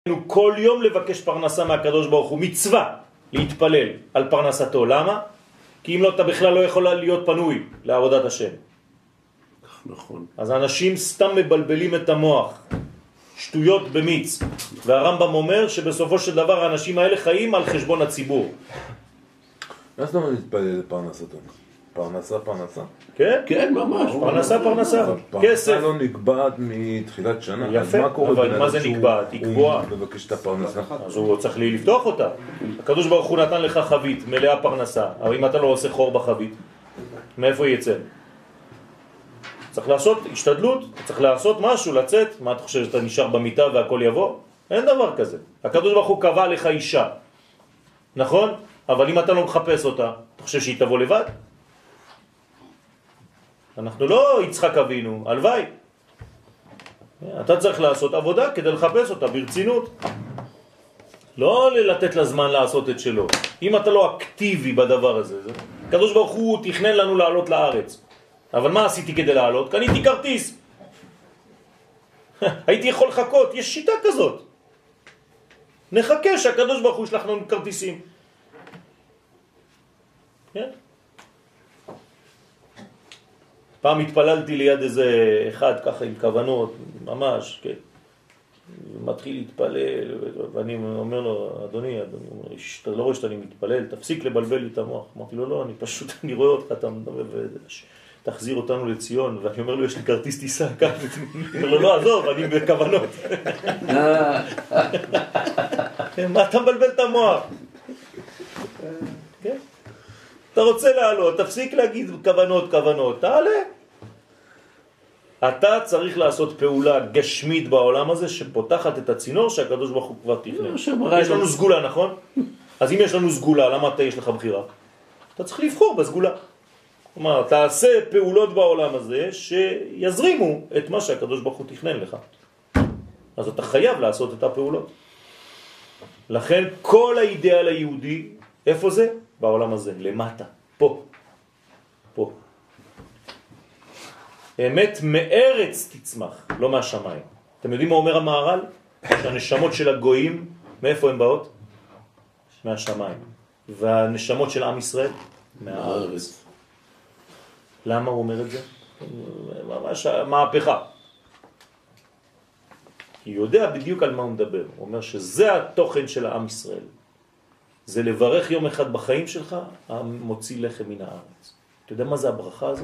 כל יום לבקש פרנסה מהקדוש ברוך הוא, מצווה להתפלל על פרנסתו. למה? כי אם לא, אתה בכלל לא יכול להיות פנוי לעבודת השם. נכון. אז אנשים סתם מבלבלים את המוח, שטויות במיץ. והרמב"ם אומר שבסופו של דבר האנשים האלה חיים על חשבון הציבור. מה זאת אומרת להתפלל לפרנסתו? פרנסה? כן? כן, ממש. פרנסה. כסף. פרנסה לא נקבעת מתחילת שנה. יפה, אבל מה זה נקבעת? היא קבועה. הוא מבקש את הפרנסה. אז הוא צריך לפתוח אותה. הקדוש ברוך הוא נתן לך חבית מלאה פרנסה, אבל אם אתה לא עושה חור בחבית, מאיפה יצא? צריך לעשות השתדלות, צריך לעשות משהו, לצאת. מה אתה חושב, שאתה נשאר במיטה והכל יבוא? אין דבר כזה. הקדוש ברוך הוא קבע לך אישה, נכון? אבל אם אתה לא מחפש אותה, אתה חושב שהיא תבוא לבד? אנחנו לא יצחק אבינו, הלוואי. אתה צריך לעשות עבודה כדי לחפש אותה ברצינות. לא לתת לה זמן לעשות את שלו. אם אתה לא אקטיבי בדבר הזה, הקדוש ברוך הוא תכנן לנו לעלות לארץ. אבל מה עשיתי כדי לעלות? קניתי כרטיס. הייתי יכול לחכות, יש שיטה כזאת. נחכה שהקדוש ברוך הוא ישלח לנו כרטיסים. כן? פעם התפללתי ליד איזה אחד ככה עם כוונות, ממש, כן. מתחיל להתפלל, ואני אומר לו, אדוני, אתה לא רואה שאתה מתפלל, תפסיק לבלבל לי את המוח. אמרתי לו, לא, אני רואה אותך, אתה מדבר, תחזיר אותנו לציון, ואני אומר לו, יש לי כרטיס טיסה, כאן. אני אומר לו, לא, עזוב, אני בכוונות. מה אתה מבלבל את המוח? כן? אתה רוצה לעלות, תפסיק להגיד כוונות, תעלה. אתה צריך לעשות פעולה גשמית בעולם הזה שפותחת את הצינור שהקדוש ברוך הוא כבר תכנן. יש לנו סגולה, נכון? אז אם יש לנו סגולה, למה יש לך בחירה? אתה צריך לבחור בסגולה. כלומר, תעשה פעולות בעולם הזה שיזרימו את מה שהקדוש ברוך הוא תכנן לך. אז אתה חייב לעשות את הפעולות. לכן כל האידאל היהודי, איפה זה? בעולם הזה, למטה, פה. אמת מארץ תצמח, לא מהשמיים. אתם יודעים מה אומר המהר"ל? שהנשמות של הגויים, מאיפה הן באות? מהשמיים. והנשמות של עם ישראל? מהארץ. למה הוא אומר את זה? ממש מהפכה. כי הוא יודע בדיוק על מה הוא מדבר. הוא אומר שזה התוכן של העם ישראל. זה לברך יום אחד בחיים שלך, המוציא לחם מן הארץ. אתה יודע מה זה הברכה הזו?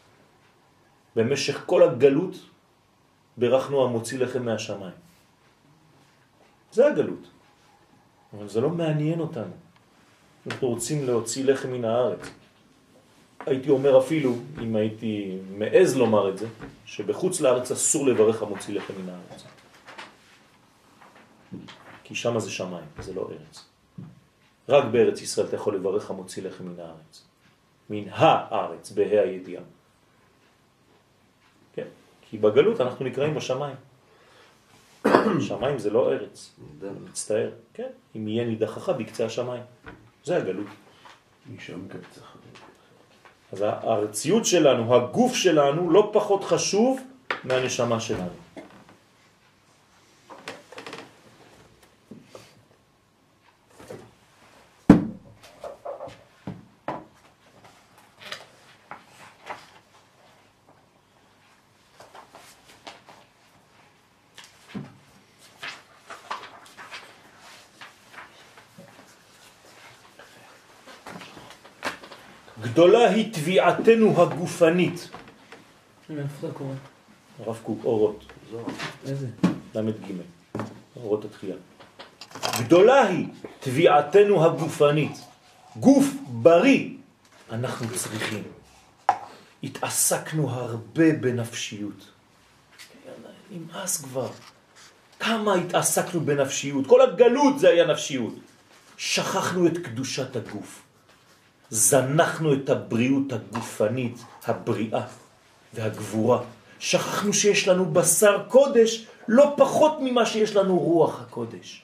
במשך כל הגלות ברכנו המוציא לחם מהשמיים. זה הגלות. אבל זה לא מעניין אותנו. אנחנו רוצים להוציא לחם מן הארץ. הייתי אומר אפילו, אם הייתי מעז לומר את זה, שבחוץ לארץ אסור לברך המוציא לחם מן הארץ. כי שם זה שמיים, זה לא ארץ. רק בארץ ישראל אתה יכול לברך המוציא לחם מן הארץ. מן הארץ, בה"א הידיעה. כן, כי בגלות אנחנו נקראים בשמיים. שמיים זה לא ארץ, מצטער. כן, אם יהיה נידחך בקצה השמיים. זה הגלות. משם קצח. אז הארציות שלנו, הגוף שלנו, לא פחות חשוב מהנשמה שלנו. גדולה היא תביעתנו הגופנית. איפה זה קורה? הרב קוק, אורות. איזה? למד ג' אורות התחייה. גדולה היא תביעתנו הגופנית. גוף בריא אנחנו צריכים. התעסקנו הרבה בנפשיות. נמאס כבר. כמה התעסקנו בנפשיות. כל הגלות זה היה נפשיות. שכחנו את קדושת הגוף. זנחנו את הבריאות הגופנית, הבריאה והגבורה. שכחנו שיש לנו בשר קודש לא פחות ממה שיש לנו רוח הקודש.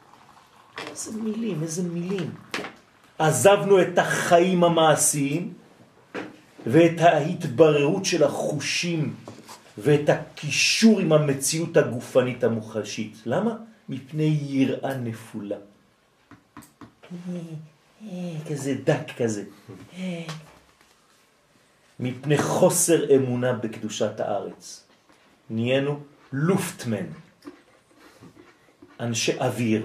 איזה מילים. עזבנו את החיים המעשיים ואת ההתבררות של החושים ואת הקישור עם המציאות הגופנית המוחשית. למה? מפני יראה נפולה. כזה דק כזה. מפני חוסר אמונה בקדושת הארץ. נהיינו לופטמן. אנשי אוויר.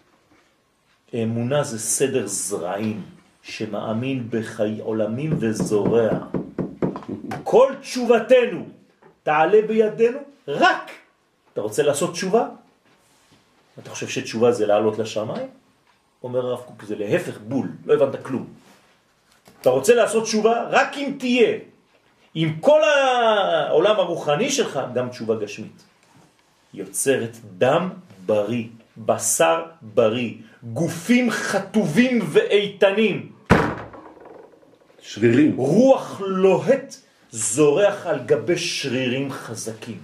אמונה זה סדר זרעים שמאמין בחיי עולמים וזורע. כל תשובתנו תעלה בידינו רק. אתה רוצה לעשות תשובה? אתה חושב שתשובה זה לעלות לשמיים? אומר הרב קוק, זה להפך בול, לא הבנת כלום. אתה רוצה לעשות תשובה רק אם תהיה, עם כל העולם הרוחני שלך, גם תשובה גשמית. יוצרת דם בריא, בשר בריא, גופים חטובים ואיתנים. שרירים. רוח לוהט זורח על גבי שרירים חזקים.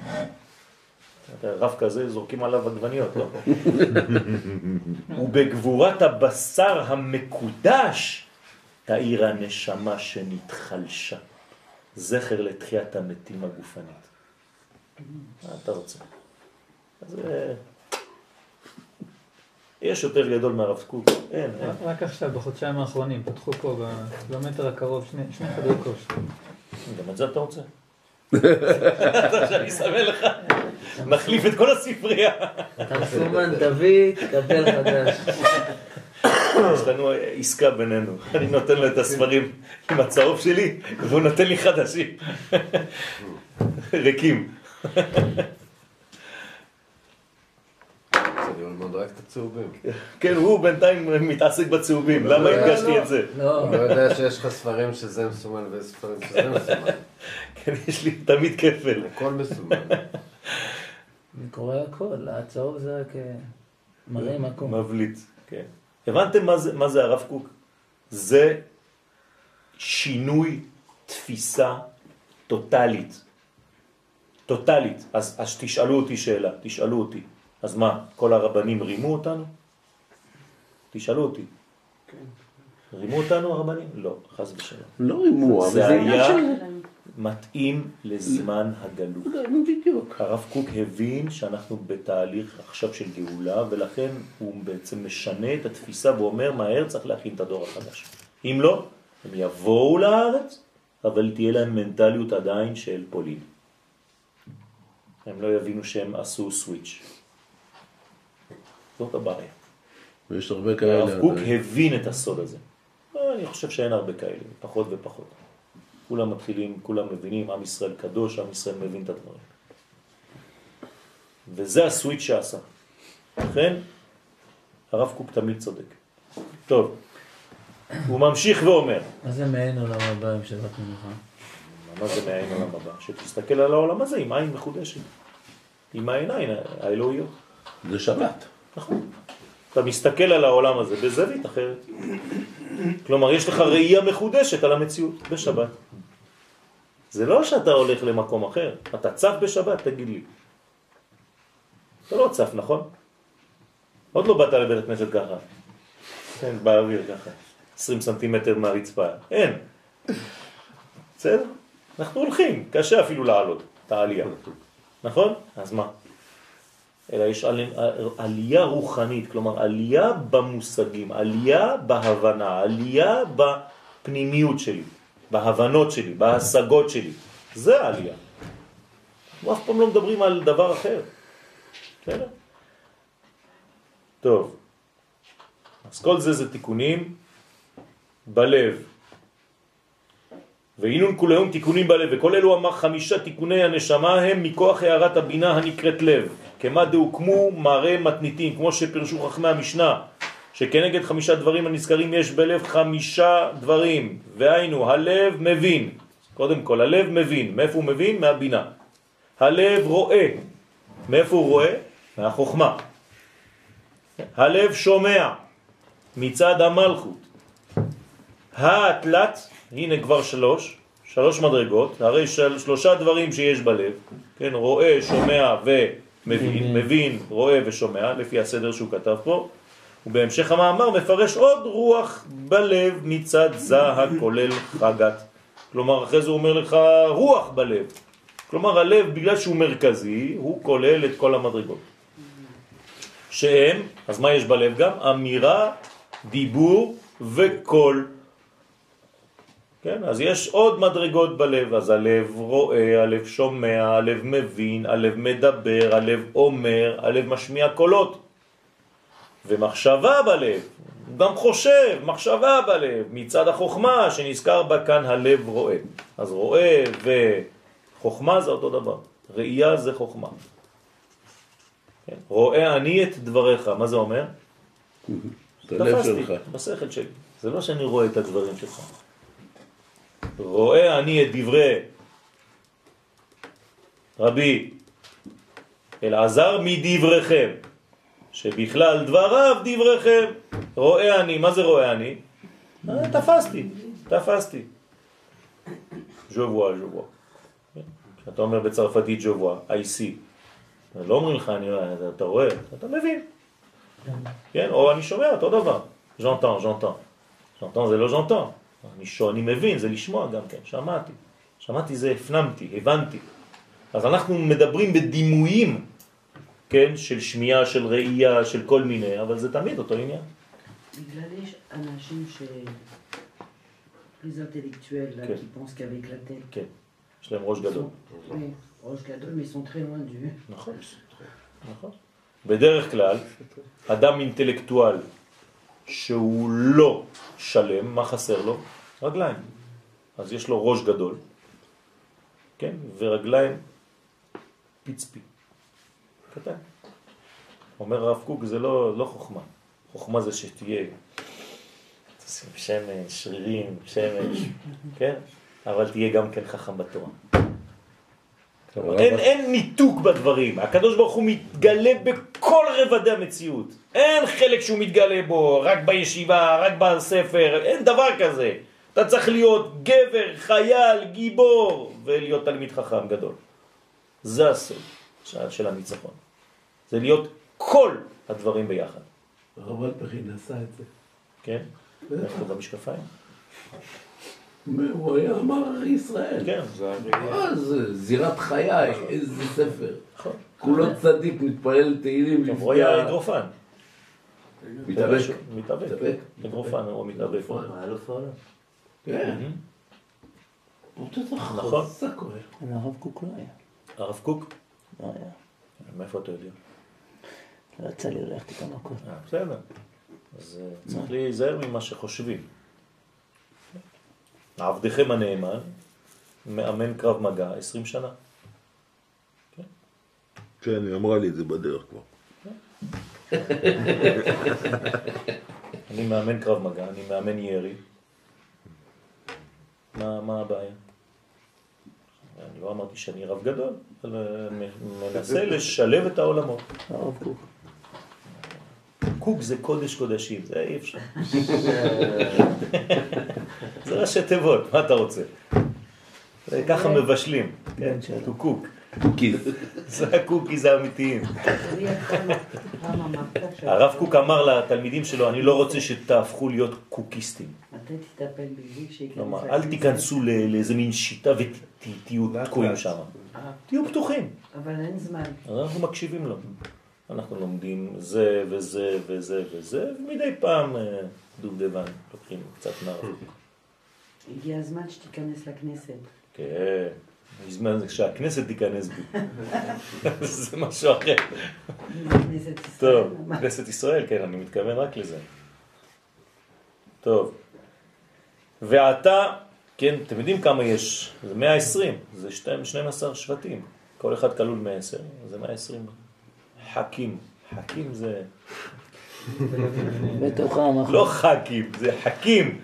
רב כזה זורקים עליו עגבניות, לא? ובגבורת הבשר המקודש תאיר הנשמה שנתחלשה. זכר לתחיית המתים הגופנית. מה אתה רוצה? אז יש יותר גדול מהרב קוק. אין. רק עכשיו, בחודשיים האחרונים, פתחו פה בקילומטר הקרוב שני חדרי כושר. גם את זה אתה רוצה? אתה שאני אסמל לך. מחליף את כל הספרייה. אתה מסומן, דוד, קבל חדש. יש לנו עסקה בינינו. אני נותן לו את הספרים עם הצהוב שלי, והוא נותן לי חדשים. ריקים. אני ללמוד רק את הצהובים. כן, הוא בינתיים מתעסק בצהובים. למה הדגשתי את זה? אני לא יודע שיש לך ספרים שזה מסומן וספרים שזה מסומן. כן, יש לי תמיד כפל. הכל מסומן. אני קורא הכל, הצהוב זה רק מראה מקום. מבליט, כן. הבנתם מה זה הרב קוק? זה שינוי תפיסה טוטלית. טוטלית. אז תשאלו אותי שאלה, תשאלו אותי. אז מה, כל הרבנים רימו אותנו? תשאלו אותי. רימו אותנו הרבנים? לא, חס ושלום. לא רימו, אבל זה זה עניין היה של... מתאים לזמן הגלות. בדיוק. הרב קוק הבין שאנחנו בתהליך עכשיו של גאולה, ולכן הוא בעצם משנה את התפיסה ואומר מהר צריך להכין את הדור החדש. אם לא, הם יבואו לארץ, אבל תהיה להם מנטליות עדיין של פולין. הם לא יבינו שהם עשו סוויץ'. זאת הבעיה. ויש הרבה כאלה. הרב קוק הבין את הסוד הזה. אני חושב שאין הרבה כאלה, פחות ופחות. כולם מתחילים, כולם מבינים, עם ישראל קדוש, עם ישראל מבין את הדברים. וזה הסוויץ' שעשה. לכן, הרב קוק תמיד צודק. טוב, הוא ממשיך ואומר. מה זה מעין עולם הבא עם שבת מנוחה? מה זה מעין עולם הבא? שתסתכל על העולם הזה עם עין מחודשת. עם העיניים האלוהיות. זה שבת. נכון. אתה מסתכל על העולם הזה בזווית אחרת. כלומר, יש לך ראייה מחודשת על המציאות בשבת. זה לא שאתה הולך למקום אחר. אתה צף בשבת, תגיד לי. אתה לא צף, נכון? עוד לא באת לבית הכנסת ככה. כן, באוויר ככה. 20 סנטימטר מהרצפה. אין. בסדר? אנחנו הולכים. קשה אפילו לעלות את העלייה. נכון? אז מה? אלא יש עלייה רוחנית, כלומר עלייה במושגים, עלייה בהבנה, עלייה בפנימיות שלי, בהבנות שלי, בהשגות שלי. זה העלייה. אנחנו אף פעם לא מדברים על דבר אחר. בסדר? טוב. אז כל זה תיקונים בלב. ואינון כולהם תיקונים בלב, וכל אלו אמר 5 תיקוני הנשמה הם מכוח הערת הבינה הנקראת לב. כמה דהוקמו מראה מתניתים, כמו שפרשו חכמי המשנה, שכנגד 5 דברים הנזכרים יש בלב 5 דברים, והיינו, הלב מבין. קודם כל, הלב מבין. מאיפה הוא מבין? מהבינה. הלב רואה. מאיפה הוא רואה? מהחוכמה. הלב שומע. מצד המלכות. התלת, הנה כבר 3 מדרגות, הרי 3 דברים שיש בלב, כן, רואה, שומע ומבין, מבין, רואה ושומע, לפי הסדר שהוא כתב פה, ובהמשך המאמר מפרש עוד רוח בלב מצד זה הכולל חגת. כלומר, אחרי זה הוא אומר לך רוח בלב. כלומר, הלב, בגלל שהוא מרכזי, הוא כולל את כל המדרגות. שהם, אז מה יש בלב גם? אמירה, דיבור וקול. כן? אז יש עוד מדרגות בלב, אז הלב רואה, הלב שומע, הלב מבין, הלב מדבר, הלב אומר, הלב משמיע קולות. ומחשבה בלב, גם חושב, מחשבה בלב, מצד החוכמה שנזכר בה כאן הלב רואה. אז רואה וחוכמה זה אותו דבר, ראייה זה חוכמה. כן? רואה אני את דבריך, מה זה אומר? תפסתי, בשכל שלי. זה לא שאני רואה את הדברים שלך. רואה אני את דברי רבי אלעזר מדבריכם, שבכלל דבריו דבריכם. רואה אני, מה זה רואה אני? תפסתי. ז'ובוע. כשאתה אומר בצרפתית ז'ובוע, I see. לא אומרים לך, אתה רואה, אתה מבין. כן? או אני שומע, אותו דבר. j'entends זה לא j'entends. אני מבין, זה לשמוע גם כן, שמעתי זה הפנמתי, הבנתי. אז אנחנו מדברים בדימויים, כן, של שמיעה, של ראייה, של כל מיני, אבל זה תמיד אותו עניין. בגלל יש אנשים plus intellectuels là, qui pensent qu'avec la tête. כן, יש להם ראש גדול. Oui, ראש גדול, mais ils sont très loin du. נכון. בדרך כלל, אדם אינטלקטואל שהוא לא שלם, מה חסר לו? רגליים. אז יש לו ראש גדול, כן? ורגליים פיצפי. קטן. אומר הרב קוק, זה לא חוכמה. חוכמה זה שתהיה תשים שמש, שרירים, שמש, כן? אבל תהיה גם כן חכם בתורה. אין ניתוק בדברים. הקדוש ברוך הוא מתגלה בכל רבדי המציאות. אין חלק שהוא מתגלה בו, רק בישיבה, רק בספר, אין דבר כזה. אתה צריך להיות גבר, חייל, גיבור, ולהיות תלמיד חכם גדול. זה הסוד של הניצחון. זה להיות כל הדברים ביחד. הרב אלפרין עשה את זה. כן? איך זה במשקפיים? הוא היה אמר ישראל. כן. זה זירת חיי, איזה ספר. נכון. כולו צדיק, מתפלל תהילים. הוא היה אגרופן. מתאבק. אגרופן הוא מתאבק. אלוף העולם. כן. נכון. הרב קוק לא היה. הרב קוק? לא היה. מאיפה אתה יודע? לא יצא לי ללכת איתם הכל. בסדר. אז צריך להיזהר ממה שחושבים. עבדכם הנאמן, מאמן קרב מגע 20 שנה. כן, היא אמרה לי את זה בדרך כבר. אני מאמן קרב מגע, אני מאמן ירי. מה הבעיה? אני לא אמרתי שאני רב גדול, אבל מנסה לשלב את העולמות. הרב קוק. קוק זה קודש קודשים, זה אי אפשר. זה ראשי תיבות, מה אתה רוצה? ככה מבשלים, כן, קוק. קוקיז. זה הקוקיז האמיתיים. הרב קוק אמר לתלמידים שלו, אני לא רוצה שתהפכו להיות קוקיסטים. מתי תטפל בזה שייכנס כלומר, אל תיכנסו לאיזה מין שיטה ותהיו תקועים שם. תהיו פתוחים. אבל אין זמן. אנחנו מקשיבים לו. אנחנו לומדים זה וזה וזה וזה, ומדי פעם דובדבן, לוקחים קצת נער. הגיע הזמן שתיכנס לכנסת. כן, הזמן שהכנסת תיכנס בי. זה משהו אחר. כנסת ישראל. טוב, כנסת ישראל, כן, אני מתכוון רק לזה. טוב. ועתה, כן, אתם יודעים כמה יש? זה 120, זה 12 שבטים. כל אחד כלול 110, זה 120. חכים, חכים זה... בתוכם. לא חכים, זה חכים.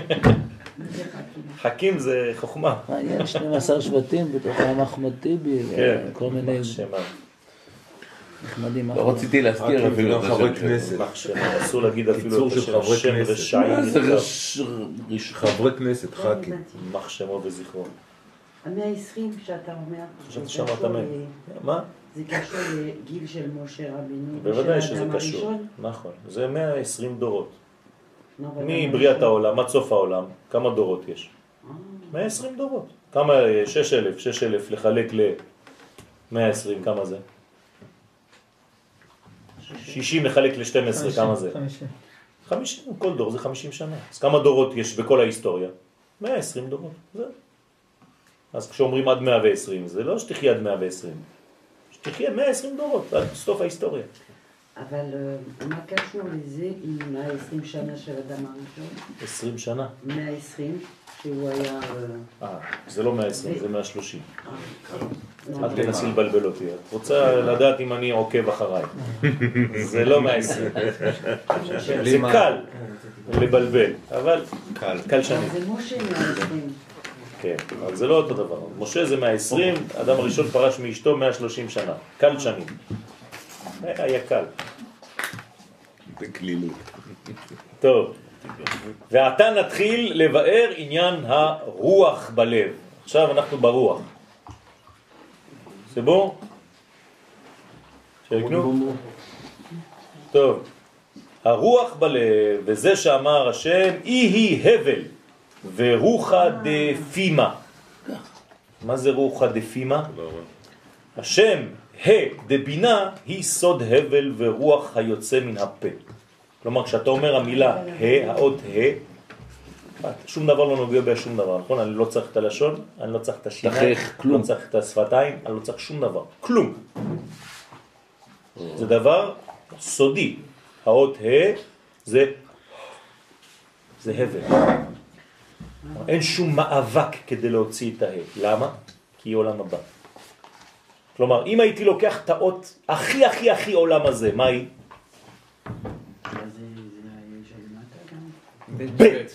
חכים זה חוכמה. מעניין, 12 שבטים בתוכם אחמד טיבי וכל מיני נחמדים. לא רציתי להזכיר אפילו גם חברי כנסת. אסור להגיד אפילו את של חברי השם כנסת. רשעים. חברי כנסת, ח"כים. מח שמו וזכרו. 120 שאתה אומר, חשבתי שאמרת מה? זה קשור לגיל של משה רבינו. בוודאי שזה קשור. נכון. זה 120 דורות. מבריאת העולם, עד סוף העולם, כמה דורות יש? 120 דורות. כמה? 6,000. 6,000 לחלק ל-120, כמה זה? 60 מחלק ל-12, כמה זה? 50. 50, כל דור זה 50 שנה. אז כמה דורות יש בכל ההיסטוריה? 120 דורות, זהו. אז כשאומרים עד 120, זה לא שתחיה עד 120, שתחיה 120 דורות, עד סוף ההיסטוריה. אבל מה קשור לזה עם 120 שנה של אדם הראשון? 20 שנה. 120, שהוא היה... זה לא 120, זה 130. את תנסי לבלבל אותי. את רוצה לדעת אם אני עוקב אחריי. זה לא 120. זה קל לבלבל, אבל קל שנים. זה משה 120. כן, אבל זה לא אותו דבר. משה זה 120, אדם הראשון פרש מאשתו 130 שנה. קל שנים. היה קל. בקלילות. טוב. ועתה נתחיל לבאר עניין הרוח בלב. עכשיו אנחנו ברוח. זה בו? שיקנו? טוב. הרוח בלב, וזה שאמר השם, היא הבל, ורוחה דפימה. מה זה רוחה דפימה? השם, דבינה, היא סוד הבל ורוח היוצא מן הפה. כלומר, כשאתה אומר המילה האות שום דבר לא נוגע בשום דבר, נכון? אני לא צריך את הלשון, אני לא צריך את השיניים, לא צריך את השפתיים, אני לא צריך שום דבר, כלום. זה דבר סודי. האות זה הבל. אין שום מאבק כדי להוציא את למה? כי היא עולם הבא. כלומר, אם הייתי לוקח את האות הכי עולם הזה, מה היא? בית.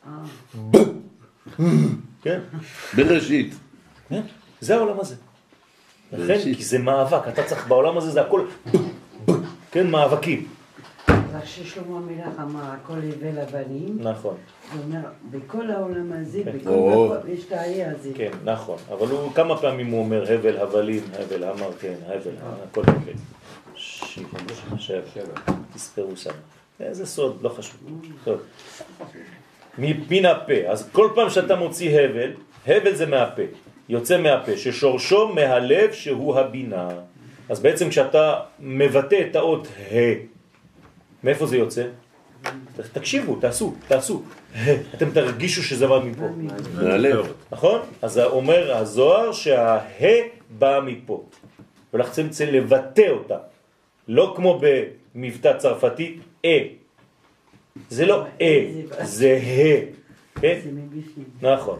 כן? בראשית. זה העולם הזה. לכן, כי זה מאבק, אתה צריך בעולם הזה, זה הכל, כן, מאבקים. רק ששלמה המלך אמר, הכל הבל הבנים. נכון. הוא אומר, בכל העולם הזה, בכל מקום, יש את האי הזה. כן, נכון. אבל הוא, כמה פעמים הוא אומר, הבל, הבלים, הבל, אמר, כן, הבל, הכל הבל. שבע. תספרו שם. זה סוד, לא חשוב. טוב. מן הפה. אז כל פעם שאתה מוציא הבל, הבל זה מהפה. יוצא מהפה, ששורשו מהלב שהוא הבינה. אז בעצם כשאתה מבטא את האות מאיפה זה יוצא? תקשיבו, תעשו. אתם תרגישו שזה בא מפה. מהלב. נכון? אז אומר הזוהר בא מפה. ולכן צריך לבטא אותה. לא כמו במבטא צרפתי, זה לא זה כן? זה מבפנים. נכון.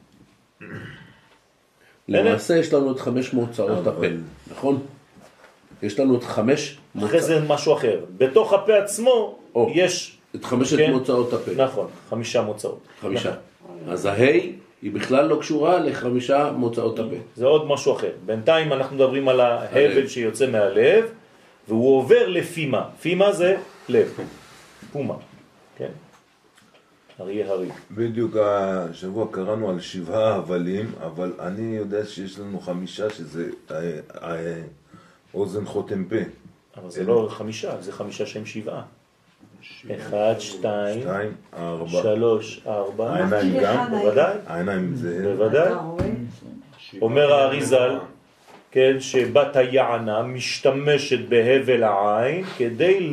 למעשה יש לנו את 5 מוצאות הפה, נכון? יש לנו את 5 אחרי זה משהו אחר. בתוך הפה עצמו יש... את 5 מוצאות הפה. נכון, 5 מוצאות. 5. אז ההי היא בכלל לא קשורה ל5 מוצאות הפה. זה עוד משהו אחר. בינתיים אנחנו מדברים על ההבל שיוצא מהלב, והוא עובר לפימה. פימה זה לב. פומה. כן? אריה הרי. בדיוק השבוע קראנו על 7 הבלים, אבל אני יודע שיש לנו 5 שזה אוזן חותם פה. אבל זה לא 5, זה 5 שהם 7. 1, 2, 3, 4. העיניים גם? בוודאי. העיניים זה... בוודאי. אומר האריזל, כן, שבת היענה משתמשת בהבל העין כדי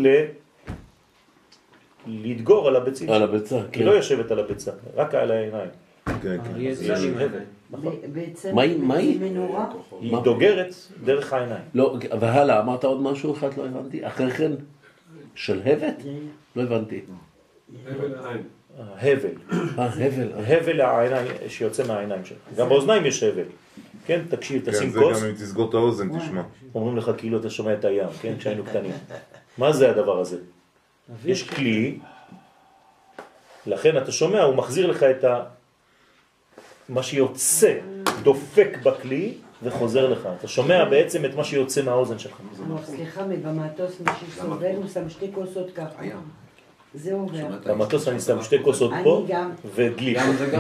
להתגור על הביצים. על הביצה, כן. היא לא יושבת על הביצה, רק על העיניים. כן, כן. יש הבל. בעצם מה היא? מנורה? היא דוגרת דרך העיניים. לא, והלאה, אמרת עוד משהו אחד, לא הבנתי. אחרי כן, של הבט? לא הבנתי. הבל. הבל. הבל העיניים שיוצא מהעיניים שלך. גם באוזניים יש הבל. כן, תקשיב, תשים זה כוס. גם אם תסגור את האוזן, תשמע. אומרים לך כאילו אתה שומע את הים, כן, כשהיינו קטנים. מה זה הדבר הזה? יש כלי, לכן אתה שומע, הוא מחזיר לך את מה שיוצא, דופק בכלי וחוזר לך. אתה שומע בעצם את מה שיוצא מהאוזן שלך. סליחה, במטוס מי שסובל הוא שם 2 כוסות ככה. זה עובר. במטוס אני שם 2 כוסות פה ודלי.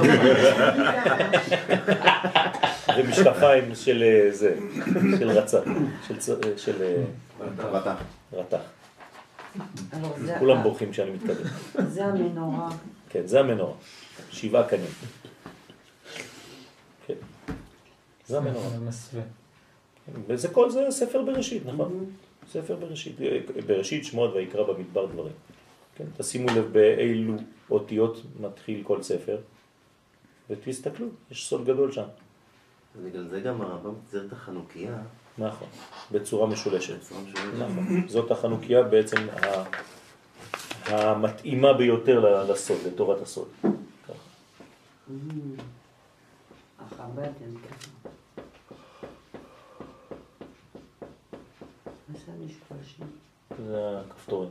ומשקפיים של זה, של רצה, של רתח. כולם בורחים כשאני מתקדם. זה המנורה. כן, זה המנורה. 7 קנים. כן. זה המנורה. וזה כל זה ספר בראשית, נכון? ספר בראשית. בראשית, שמות ויקרא במדבר דברים. כן? תשימו לב באילו אותיות מתחיל כל ספר, ותסתכלו, יש סוד גדול שם. בגלל זה גם הרמב"ם צייר את החנוכיה. נכון, בצורה משולשת. נכון, זאת החנוכיה בעצם המתאימה ביותר לסוד, לתורת הסוד. החב"ד הם ככה. מה זה המשפרשים? זה הכפתורים.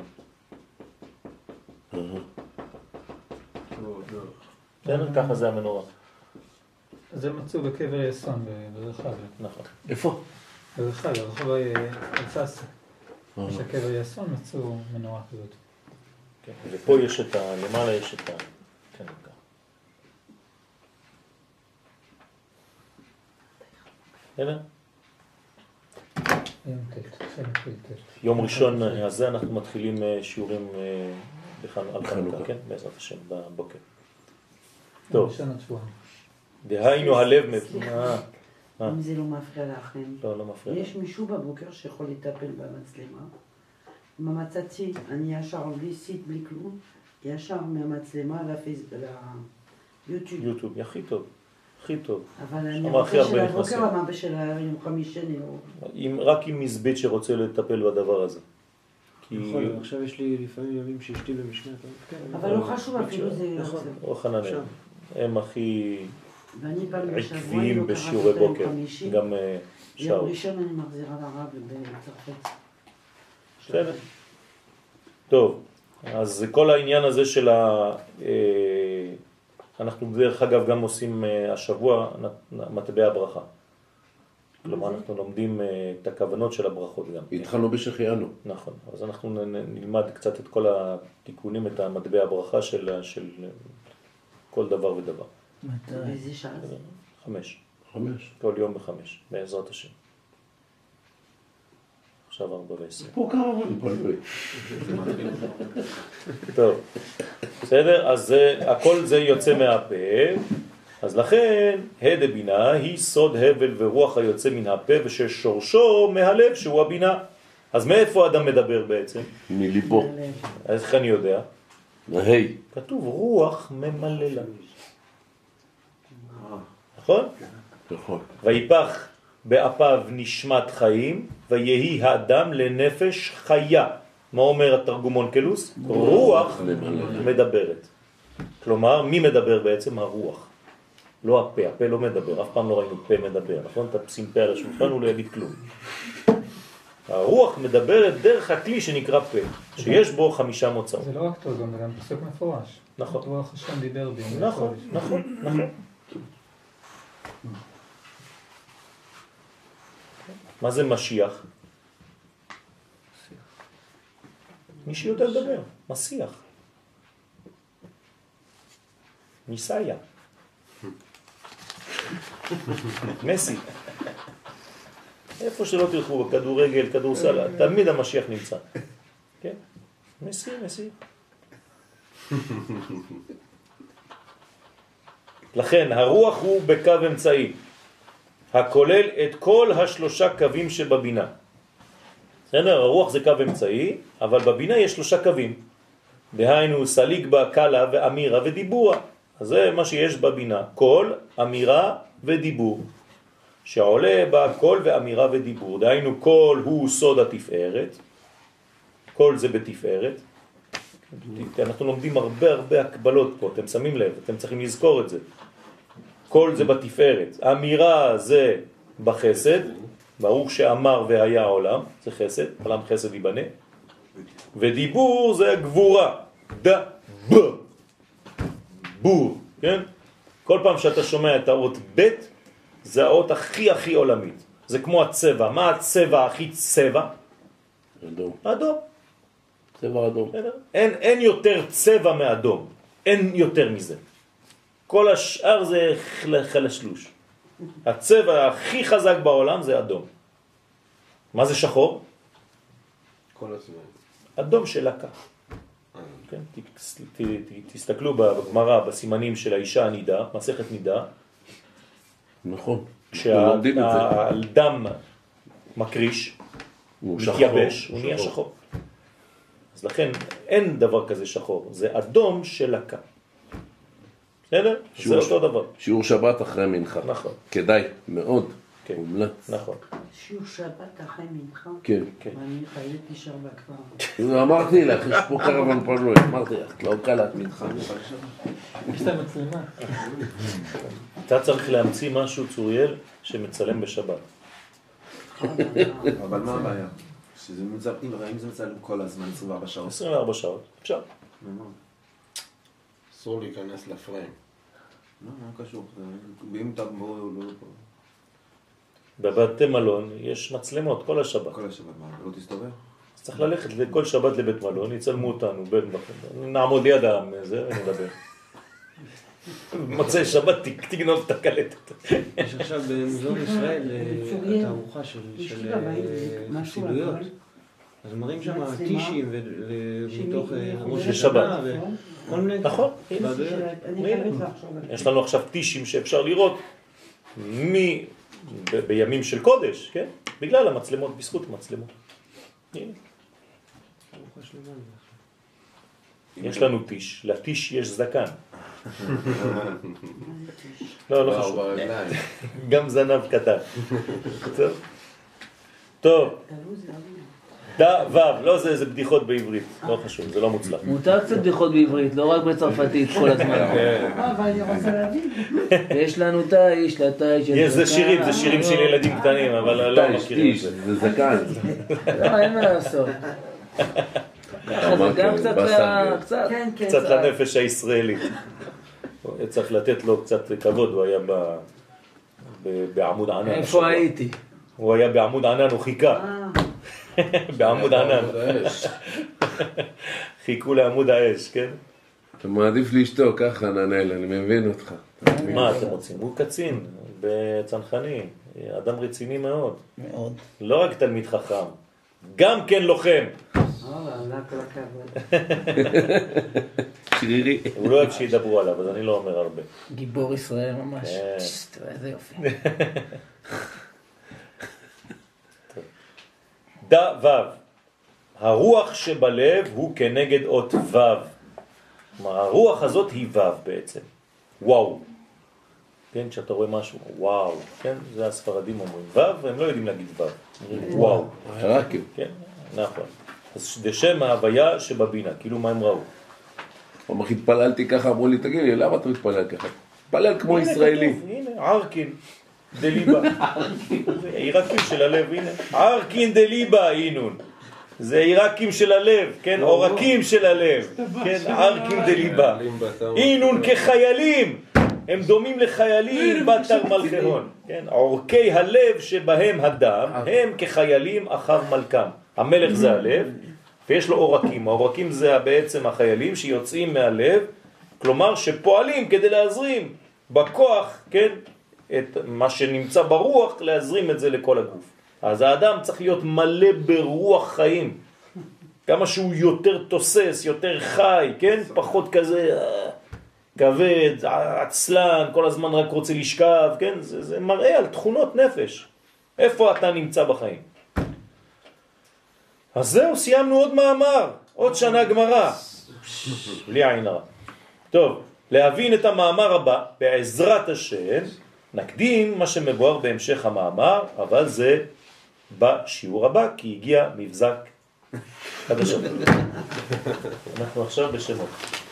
ככה זה המנורה. זה מצאו בקבר יסון ברחביה. נכון. איפה? ברחביה, רחוב אלססה. יש הקבר יסון, מצאו מנורה כזאת. כן, ופה יש את למעלה יש את כן, ככה. הנה? יום ראשון הזה אנחנו מתחילים שיעורים על חנוכה, כן? בעזרת השם, בבוקר. טוב. דהיינו הלב... אם זה לא מפריע לכם. לא מפריע. יש מישהו בבוקר שיכול לטפל במצלמה. אם מצאתי, אני ישר בלי סיט, בלי כלום, ישר מהמצלמה ליוטיוב. יוטיוב, הכי טוב. הכי טוב. אבל אני רוצה של הבוקר, מה בשל היום חמישי, אני לא... רק עם מזבית שרוצה לטפל בדבר הזה. נכון, עכשיו יש לי לפעמים ימים שאשתי במשנה. אבל לא חשוב אפילו זה... או חנניה. הם הכי ואני פעם בשבוע, עקביים בשיעורי בוקר. גם שעות. יום ראשון אני מחזירה לרב בצרפת. בסדר. טוב, אז כל העניין הזה של אנחנו דרך אגב גם עושים השבוע מטבע הברכה. כלומר אנחנו לומדים את הכוונות של הברכות גם. התחלנו בשחיינו. נכון, אז אנחנו נלמד קצת את כל התיקונים, את המטבע הברכה של כל דבר ודבר. באיזה שעה? 5. 5. כל יום ב5, בעזרת השם. עכשיו 4:10. פה קרבן. טוב, בסדר? אז הכל זה יוצא מהפה, אז לכן הד בינה היא סוד הבל ורוח היוצא מן הפה וששורשו מהלב שהוא הבינה. אז מאיפה אדם מדבר בעצם? מליבו. אז איך אני יודע? ההי. כתוב רוח ממללה. נכון? נכון. ויפח באפיו נשמת חיים ויהי האדם לנפש חיה. מה אומר התרגום אונקלוס? רוח מדברת. כלומר, מי מדבר בעצם? הרוח. לא הפה, הפה לא מדבר, אף פעם לא ראינו פה מדבר, נכון? אתה שים פה על השולחן, הוא לא יגיד כלום. הרוח מדברת דרך הכלי שנקרא פה, שיש בו 5 מוצאות. זה לא רק תרגום, זה גם פסוק מפורש. נכון. רוח השם דיבר בי. נכון, נכון, נכון. מה זה משיח? מי שיודע לדבר, משיח. ניסאיה. מסי. איפה שלא תלכו, בכדורגל, כדורסל, תמיד המשיח נמצא. כן? מסי, מסי. לכן, הרוח הוא בקו אמצעי, הכולל את כל 3 קווים שבבינה. בסדר? הרוח זה קו אמצעי, אבל בבינה יש 3 קווים. דהיינו, סליג בה קלה ואמירה ודיבורה. אז זה מה שיש בבינה, קול, אמירה ודיבור. שעולה בה קול ואמירה ודיבור. דהיינו, קול הוא סוד התפארת. קול זה בתפארת. אנחנו לומדים הרבה הקבלות פה, אתם שמים לב, אתם צריכים לזכור את זה. קול זה בתפארת. אמירה זה בחסד. ברוך שאמר והיה העולם, זה חסד, עולם חסד ייבנה. ודיבור זה גבורה. בור, כן? כל פעם שאתה שומע את האות ב' זה האות הכי עולמית. זה כמו הצבע. מה הצבע הכי צבע? אדום. אדום. צבע אדום. אין יותר צבע מאדום. אין יותר מזה. כל השאר זה חלשלוש. הצבע הכי חזק בעולם זה אדום. מה זה שחור? כל הזמן. אדום של לקה. כן? תסתכלו בגמרא, בסימנים של האישה הנידה, מסכת נידה. נכון. כשהדם מקריש, מתייבש, הוא נהיה שחור. אז לכן אין דבר כזה שחור, זה אדום של לקה. בסדר? זה אותו דבר. שיעור שבת אחרי מנחה. נכון. כדאי, מאוד. מומלץ. נכון. שיעור שבת אחרי מנחה? כן. ואני חייבת להישאר בכבר. אמרתי לך, יש פה קרוון פנוי, אמרתי לך, לא קלט מנחה. יש להם מצלמה. אתה צריך להמציא משהו, צוריאל, שמצלם בשבת. אבל מה הבעיה? אם זה מצלם כל הזמן, 24 שעות. 24 שעות, אפשר. אסור להיכנס לפריים. לא קשור. ואם אתה לא... בבתי מלון יש מצלמות כל השבת. כל השבת, מה? לא תסתובב? אז צריך ללכת לכל שבת לבית מלון, יצלמו אותנו, נעמוד ליד זה ונדבר. מוצאי שבת תגנוב את הקלטת. יש עכשיו במוזיאון ישראל תערוכה של חסידויות. אז מראים שם טישים ומתוך ראש השנה וכל מיני... נכון. יש לנו עכשיו טישים שאפשר לראות בימים של קודש, כן? בגלל המצלמות, בזכות המצלמות. יש לנו טיש, לטיש יש זקן. לא חשוב. גם זנב קטן. טוב. לא זה בדיחות בעברית, לא חשוב, זה לא מוצלח. מותר קצת בדיחות בעברית, לא רק בצרפתית כל הזמן. אבל אני רוצה להבין. יש לנו תאיש, לתאיש. זה שירים של ילדים קטנים, אבל לא מכירים את זה. זה זקן. לא, אין מה לעשות. זה גם קצת לנפש הישראלית. צריך לתת לו קצת כבוד, הוא היה בעמוד ענן. איפה הייתי? הוא היה בעמוד ענן, הוא חיכה. בעמוד ענן. חיכו לעמוד האש, כן? אתה מעדיף לשתוק, ככה ננהל, אני מבין אותך. מה אתם רוצים? הוא קצין בצנחני, אדם רציני מאוד. מאוד. לא רק תלמיד חכם, גם כן לוחם. שרירי. הוא לא אוהב שידברו עליו, אז אני לא אומר הרבה. גיבור ישראל ממש. איזה יופי. דה וו. הרוח שבלב הוא כנגד אות וו. הרוח הזאת היא וו בעצם. וואו. כן, כשאתה רואה משהו, וואו. כן, זה הספרדים אומרים וו, והם לא יודעים להגיד וו. וואו. חרקים. כן, נכון. אז זה שם ההוויה שבבינה, כאילו מה הם ראו. אמר, התפללתי ככה, אמרו לי, תגיד לי, למה אתה מתפלל ככה? תפלל כמו ישראלי. הנה, ערקין דליבה. עירקים של הלב, הנה. ערקין דליבה, אינון. זה עירקים של הלב, כן? עורקים של הלב. כן, ערקין דליבה. אינון כחיילים. הם דומים לחיילים בתר מלכהון. כן, עורקי הלב שבהם הדם, הם כחיילים אחר מלכם. המלך זה הלב, ויש לו עורקים. העורקים זה בעצם החיילים שיוצאים מהלב, כלומר שפועלים כדי להזרים בכוח, כן, את מה שנמצא ברוח, להזרים את זה לכל הגוף. אז האדם צריך להיות מלא ברוח חיים. כמה שהוא יותר תוסס, יותר חי, כן? פחות כזה כבד, עצלן, כל הזמן רק רוצה לשכב, כן? זה מראה על תכונות נפש. איפה אתה נמצא בחיים? אז זהו, סיימנו עוד מאמר, עוד שנה גמרא. בלי עין הרע. טוב, להבין את המאמר הבא, בעזרת השם, נקדים מה שמבואר בהמשך המאמר, אבל זה בשיעור הבא, כי הגיע מבזק חדשות. אנחנו עכשיו בשמות.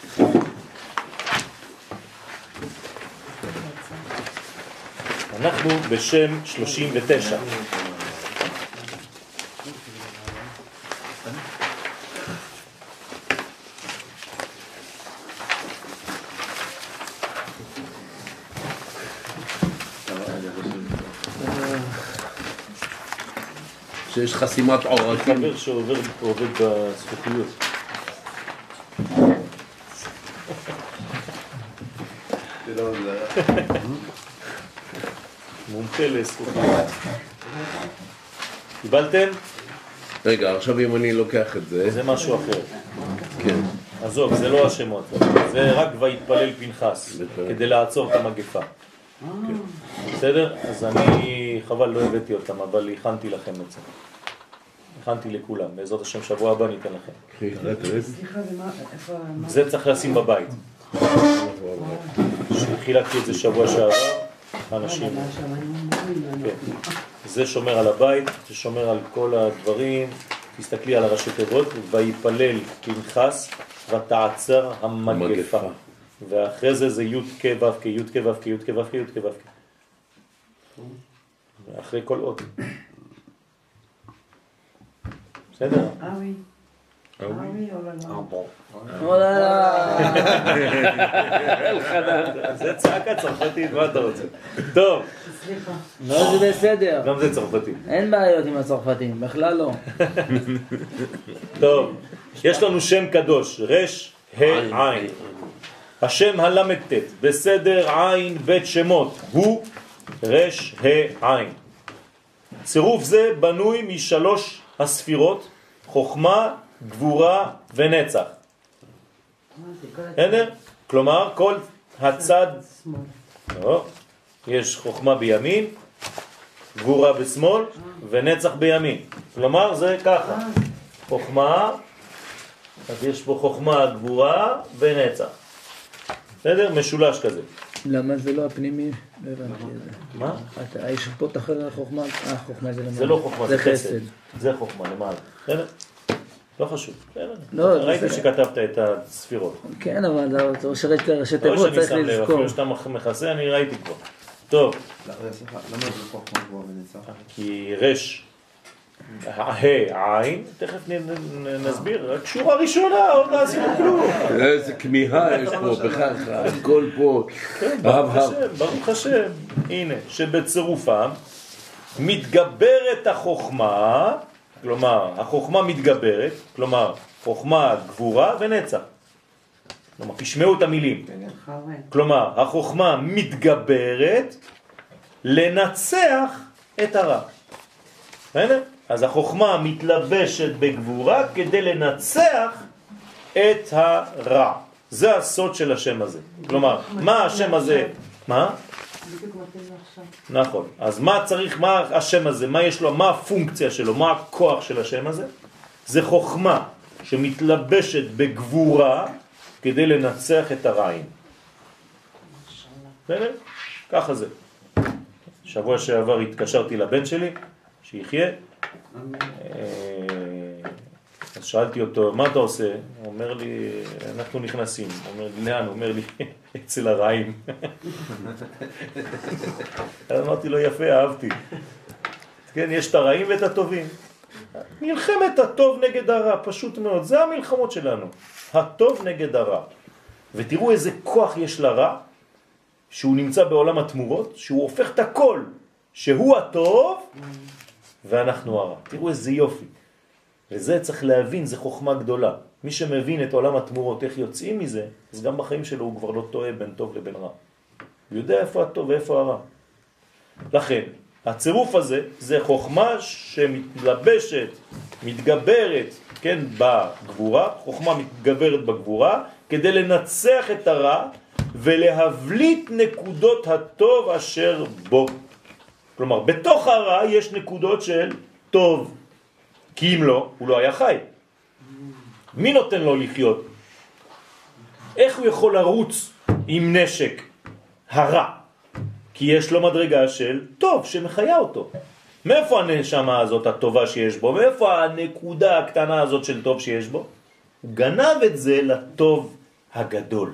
אנחנו בשם 39. שיש חסימת עורקים. חבר שעובד בזכוכיות. מומחה לזכוכיות. קיבלתם? רגע, עכשיו אם אני לוקח את זה... זה משהו אחר. כן. עזוב, זה לא השמות. זה רק ויתפלל פנחס, כדי לעצור את המגפה. בסדר? אז אני חבל לא הבאתי אותם, אבל הכנתי לכם את זה. הכנתי לכולם, בעזרת השם שבוע הבא ניתן לכם. סליחה, איפה... זה צריך לשים בבית. חילקתי את זה שבוע שעבר, אנשים. זה שומר על הבית, זה שומר על כל הדברים. תסתכלי על הראשי תיבות, ויפלל פנחס ותעצר המגפה. ואחרי זה זה י' כ' ו' כ', י' כ' ו' כ', י' כ' ו' כ', י' כ' ו' כ'. אחרי כל אות. בסדר? oui. Ah oui, oh là là. זה צעקה צרפתית, מה אתה רוצה? טוב. סליחה. לא, זה בסדר. גם זה צרפתי. אין בעיות עם הצרפתים, בכלל לא. טוב, יש לנו שם קדוש, רש, עין. השם הל"ט בסדר עין בית שמות הוא רש, עין. צירוף זה בנוי משלוש הספירות, חוכמה, גבורה ונצח. כלומר, כל הצד, יש חוכמה בימין, גבורה בשמאל ונצח בימין. כלומר, זה ככה. חוכמה, אז יש פה חוכמה, גבורה ונצח. בסדר? משולש כזה. למה זה לא הפנימי? לא הבנתי את זה. מה? יש פה תחר החוכמה, החוכמה זה למעלה. זה לא חוכמה, זה חסד. זה חוכמה למעלה. בסדר? לא חשוב. ראיתי שכתבת את הספירות. כן, אבל ראשי תיבות צריך לזכור. אפילו שאתה מכסה, אני ראיתי כבר. טוב. סליחה, למה זה חוכמה גבוהה ונצח? כי רש, עין, תכף נסביר, רק שורה ראשונה, עוד לא עשינו כלום. איזה כמיהה יש פה, בכך, הכל פה. ברוך השם, הנה, שבצירופם מתגברת החוכמה, כלומר, החוכמה מתגברת, כלומר, חוכמה, גבורה ונצח. כלומר, תשמעו את המילים. כלומר, החוכמה מתגברת לנצח את הרע. אז החוכמה מתלבשת בגבורה כדי לנצח את הרע. זה הסוד של השם הזה. כלומר, מה השם הזה? מה? נכון. אז מה צריך, מה השם הזה? מה יש לו? מה הפונקציה שלו? מה הכוח של השם הזה? זה חוכמה שמתלבשת בגבורה כדי לנצח את הרעים. בסדר? ככה זה. שבוע שעבר התקשרתי לבן שלי, שיחיה. אז שאלתי אותו, מה אתה עושה? הוא אומר לי, אנחנו נכנסים. הוא אומר לי, לאן? הוא אומר לי, אצל הרעים. אמרתי לו, יפה, אהבתי. כן, יש את הרעים ואת הטובים. מלחמת הטוב נגד הרע, פשוט מאוד. זה המלחמות שלנו. הטוב נגד הרע. ותראו איזה כוח יש לרע, שהוא נמצא בעולם התמורות, שהוא הופך את הכל, שהוא הטוב, ואנחנו הרע. תראו איזה יופי. וזה צריך להבין, זה חוכמה גדולה. מי שמבין את עולם התמורות, איך יוצאים מזה, אז גם בחיים שלו הוא כבר לא טועה בין טוב לבין רע. הוא יודע איפה הטוב ואיפה הרע. לכן, הצירוף הזה, זה חוכמה שמתלבשת, מתגברת, כן, בגבורה, חוכמה מתגברת בגבורה, כדי לנצח את הרע ולהבליט נקודות הטוב אשר בו. כלומר, בתוך הרע יש נקודות של טוב, כי אם לא, הוא לא היה חי. מי נותן לו לחיות? איך הוא יכול לרוץ עם נשק הרע? כי יש לו מדרגה של טוב שמחיה אותו. מאיפה הנשמה הזאת הטובה שיש בו? מאיפה הנקודה הקטנה הזאת של טוב שיש בו? הוא גנב את זה לטוב הגדול.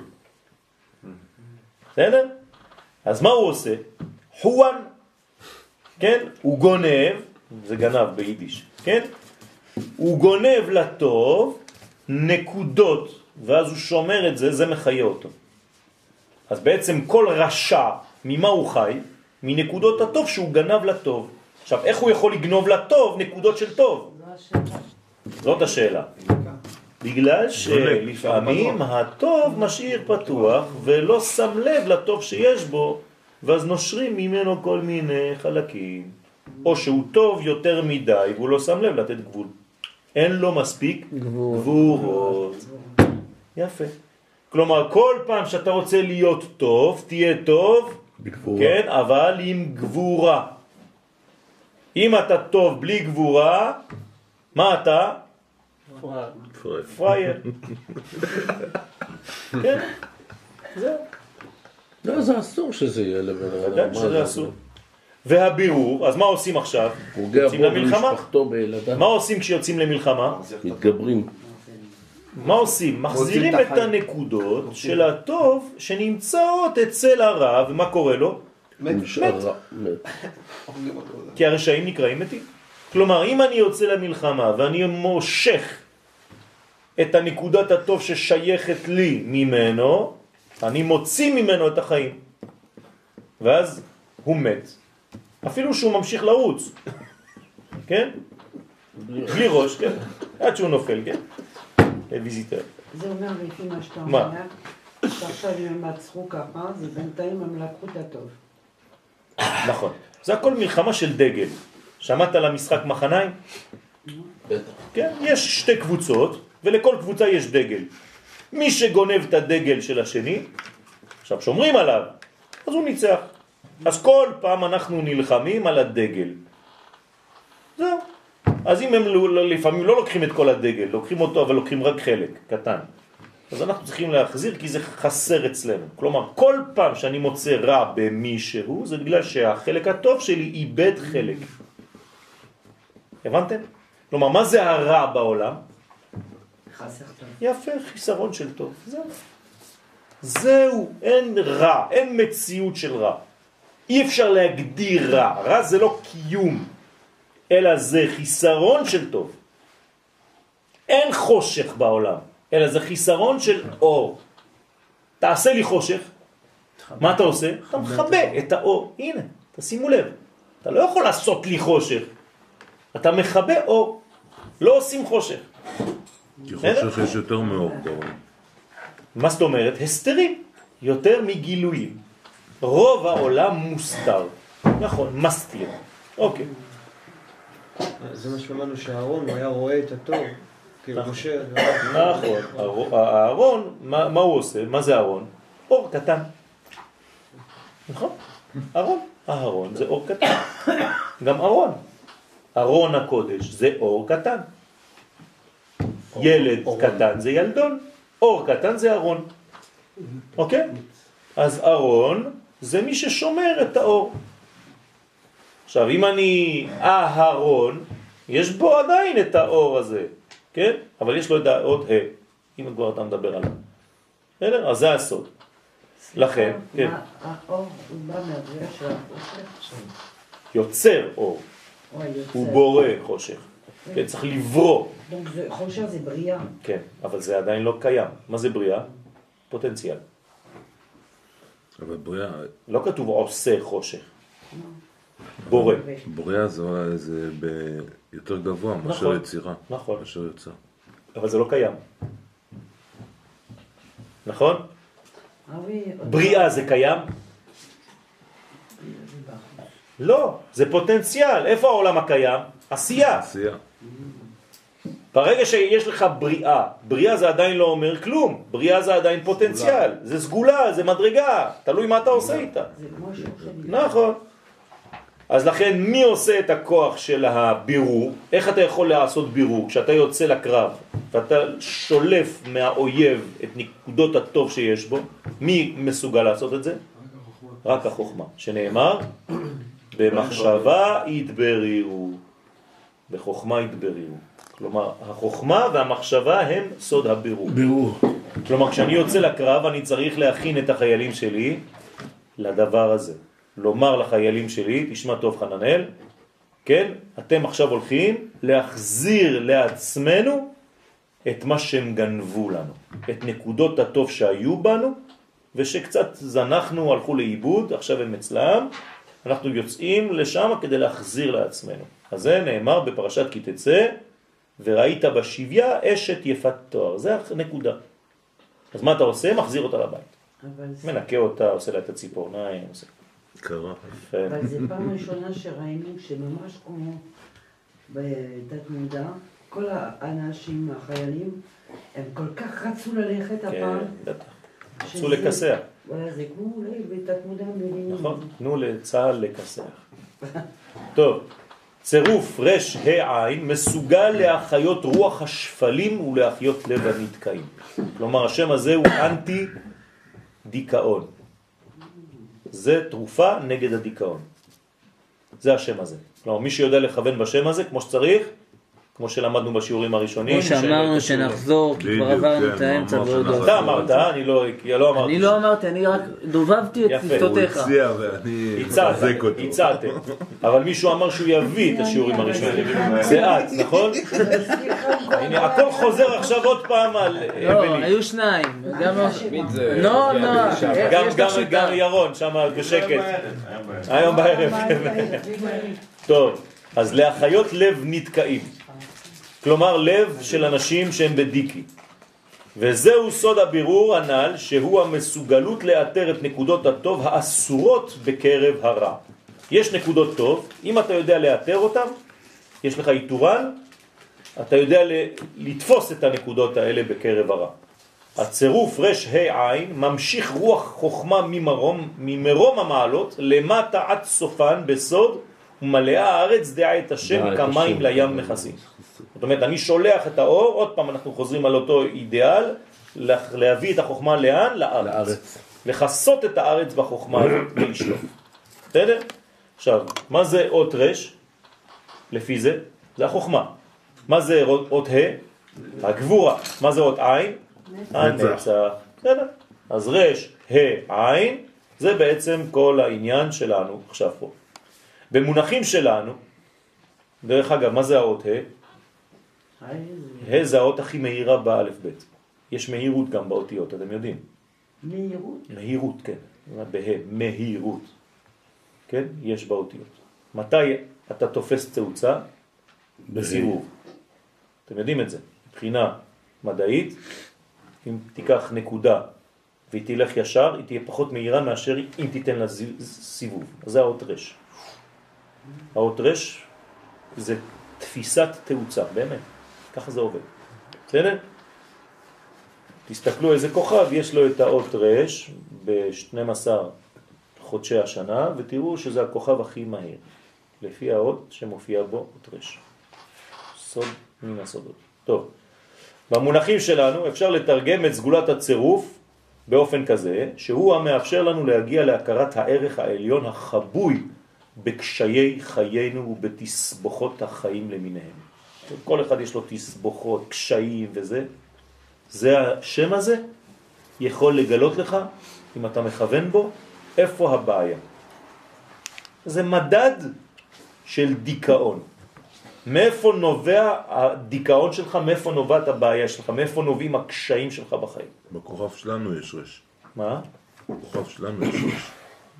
בסדר? אז מה הוא עושה? חואן, כן? הוא גונב, זה גנב ביידיש, כן? הוא גונב לטוב נקודות, ואז הוא שומר את זה, זה מחיה אותו. אז בעצם כל רשע, ממה הוא חי? מנקודות הטוב שהוא גנב לטוב. עכשיו, איך הוא יכול לגנוב לטוב נקודות של טוב? זאת השאלה. בגלל שלפעמים הטוב משאיר פתוח ולא שם לב לטוב שיש בו, ואז נושרים ממנו כל מיני חלקים. או שהוא טוב יותר מדי והוא לא שם לב לתת גבול. אין לו מספיק גבורות. יפה. כלומר, כל פעם שאתה רוצה להיות טוב, תהיה טוב, בגבורה. כן, אבל עם גבורה. אם אתה טוב בלי גבורה, מה אתה? פרייר. כן, זהו. לא, זה אסור שזה יהיה לבן אדם. ודאי שזה אסור. והבירור, אז מה עושים עכשיו? יוצאים למלחמה. מה עושים כשיוצאים למלחמה? מתגברים. מה עושים? מחזירים את הנקודות של הטוב שנמצאות אצל הרע, ומה קורה לו? מת. כי הרשעים נקראים מתים. כלומר, אם אני יוצא למלחמה ואני מושך את הנקודת הטוב ששייכת לי ממנו, אני מוציא ממנו את החיים. ואז הוא מת. אפילו שהוא ממשיך לרוץ. כן? בלי ראש, כן? עד שהוא נופל, כן? ויזיטר. זה אומר לפי מה שאתה אומר, שעכשיו אם הם מצחו ככה, זה בינתיים הם לקחו את הטוב. נכון. זה הכל מלחמה של דגל. שמעת על המשחק מחניים? בטח. כן, יש שתי קבוצות, ולכל קבוצה יש דגל. מי שגונב את הדגל של השני, עכשיו שומרים עליו, אז הוא ניצח. אז כל פעם אנחנו נלחמים על הדגל. זהו. אז אם הם לפעמים לא לוקחים את כל הדגל, לוקחים אותו אבל לוקחים רק חלק, קטן. אז אנחנו צריכים להחזיר כי זה חסר אצלנו. כלומר, כל פעם שאני מוצא רע במישהו, זה בגלל שהחלק הטוב שלי איבד חלק. הבנתם? כלומר, מה זה הרע בעולם? חסר טוב. יפה, חיסרון של טוב. זהו, אין רע, אין מציאות של רע. אי אפשר להגדיר רע. רע זה לא קיום, אלא זה חיסרון של טוב. אין חושך בעולם, אלא זה חיסרון של אור. תעשה לי חושך, מה אתה עושה? אתה מכבה את האור. הנה, תשימו לב. אתה לא יכול לעשות לי חושך. אתה מכבה אור. לא עושים חושך. כי חושך יש יותר מאור בעולם. מה זאת אומרת? הסתרים. יותר מגילויים. רוב העולם מוסתר. נכון, מסתיר. אוקיי. זה מה שאמרנו שהארון, הוא היה רואה את הטוב. כאילו משה... נכון. הארון, מה הוא עושה? מה זה הארון? אור קטן. נכון? ארון. הארון זה אור קטן. גם ארון. ארון הקודש זה אור קטן. ילד קטן זה ילדון. אור קטן זה ארון. אוקיי? אז ארון זה מי ששומר את האור. עכשיו, אם אני אהרון, יש בו עדיין את האור הזה, כן? אבל יש לו את עוד אם כבר אתה מדבר עליו. בסדר? אז זה הסוד. לכן, כן. האור הוא בא מהבריאה של החושך? יוצר אור. הוא בורא חושך. כן, צריך לברוא. חושך זה בריאה. כן, אבל זה עדיין לא קיים. מה זה בריאה? פוטנציאל. אבל בריאה... לא כתוב עושה חושך. בורא. בריאה זה יותר גבוה מאשר יצירה. נכון. מאשר יוצר. אבל זה לא קיים. נכון? בריאה זה קיים? לא, זה פוטנציאל. איפה העולם הקיים? עשייה. עשייה. ברגע שיש לך בריאה, בריאה זה עדיין לא אומר כלום. בריאה זה עדיין פוטנציאל. זה סגולה, זה מדרגה. תלוי מה אתה עושה איתה. נכון. אז לכן מי עושה את הכוח של הבירור? איך אתה יכול לעשות בירור? כשאתה יוצא לקרב ואתה שולף מהאויב את נקודות הטוב שיש בו, מי מסוגל לעשות את זה? רק החוכמה. שנאמר, במחשבה יתברירו. בחוכמה יתברירו. כלומר, החוכמה והמחשבה הם סוד הבירור. בירור. כלומר, כשאני יוצא לקרב אני צריך להכין את החיילים שלי לדבר הזה. לומר לחיילים שלי, תשמע טוב חננאל, כן? אתם עכשיו הולכים להחזיר לעצמנו את מה שהם גנבו לנו. את נקודות הטוב שהיו בנו, ושקצת זנחנו, הלכו לאיבוד, עכשיו הם אצלם, אנחנו יוצאים לשם כדי להחזיר לעצמנו. אז זה נאמר בפרשת כי תצא, וראית בשביה אשת יפת תואר. זה הנקודה. אז מה אתה עושה? מחזיר אותה לבית. מנקה אותה, עושה לה את הציפורניים, עושה... קרה. אבל זה פעם ראשונה שראינו שממש כמו בתת מודע, כל האנשים, החיילים, הם כל כך רצו ללכת הפעם. כן, בטח. רצו לקסח. זה כמו אולי בתת מודע מבינים. נכון, תנו לצהל לקסח. טוב, צירוף רש העין מסוגל להחיות רוח השפלים ולהחיות לב הנתקעים. כלומר, השם הזה הוא אנטי דיכאון. זה תרופה נגד הדיכאון. זה השם הזה. כלומר, מי שיודע לכוון בשם הזה כמו שצריך, כמו שלמדנו בשיעורים הראשונים. כמו שאמרנו שנחזור, כי כבר עברנו את האמצע ועוד לא. אתה אמרת, אני לא אמרתי. אני לא אמרתי, אני רק דובבתי את שפתותיך. הוא הציע ואני מחזק אותו. הצעתם. אבל מישהו אמר שהוא יביא את השיעורים הראשונים. זה את, נכון? הנה, הכל חוזר עכשיו עוד פעם על... לא, היו שניים. גם ירון, שם בשקט. היום בערב. טוב, אז להחיות לב נתקעים. כלומר לב של אנשים שהם בדיקי. וזהו סוד הבירור הנ"ל, שהוא המסוגלות לאתר את נקודות הטוב האסורות בקרב הרע. יש נקודות טוב, אם אתה יודע לאתר אותם, יש לך איתורן, אתה יודע לתפוס את הנקודות האלה בקרב הרע. הצירוף רש העין ממשיך רוח חוכמה ממרום המעלות למטה עד סופן בסוד, ומלאה הארץ דעה את השם כמים לים מכסים. זאת אומרת, אני שולח את האור, עוד פעם אנחנו חוזרים על אותו אידיאל, להביא את החוכמה לאן? לארץ. לחסות את הארץ בחוכמה הזאת ולשלוף. בסדר? עכשיו, מה זה אות רש? לפי זה? זה החוכמה. מה זה אות ה'? הגבורה. מה זה אות עין? הנצח. בסדר? אז רש, עין, זה בעצם כל העניין שלנו עכשיו פה. במונחים שלנו, דרך אגב, מה זה האות ה'? זה האות הכי מהירה באלף בית. יש מהירות גם באותיות, אתם יודעים. מהירות? מהירות, כן. מהירות. כן? יש באותיות. מתי אתה תופס תאוצה? בסיבוב. אתם יודעים את זה. מבחינה מדעית, אם תיקח נקודה והיא תלך ישר, היא תהיה פחות מהירה מאשר אם תיתן לה סיבוב. אז זה האות רש. האות רש זה תפיסת תאוצה, באמת. ככה זה עובד. בסדר? תסתכלו איזה כוכב יש לו את האות רש ב-12 חודשי השנה, ותראו שזה הכוכב הכי מהיר, לפי האות שמופיע בו אות רש. סוד מן הסודות. טוב. במונחים שלנו אפשר לתרגם את סגולת הצירוף באופן כזה, שהוא המאפשר לנו להגיע להכרת הערך העליון החבוי בקשיי חיינו ובתסבוכות החיים למיניהם. כל אחד יש לו תסבוכות, קשיים וזה. זה השם הזה יכול לגלות לך, אם אתה מכוון בו, איפה הבעיה. זה מדד של דיכאון. מאיפה נובע הדיכאון שלך, מאיפה נובעת הבעיה שלך, מאיפה נובעים הקשיים שלך בחיים. בכוכב שלנו יש רש. מה? בכוכב שלנו יש רש.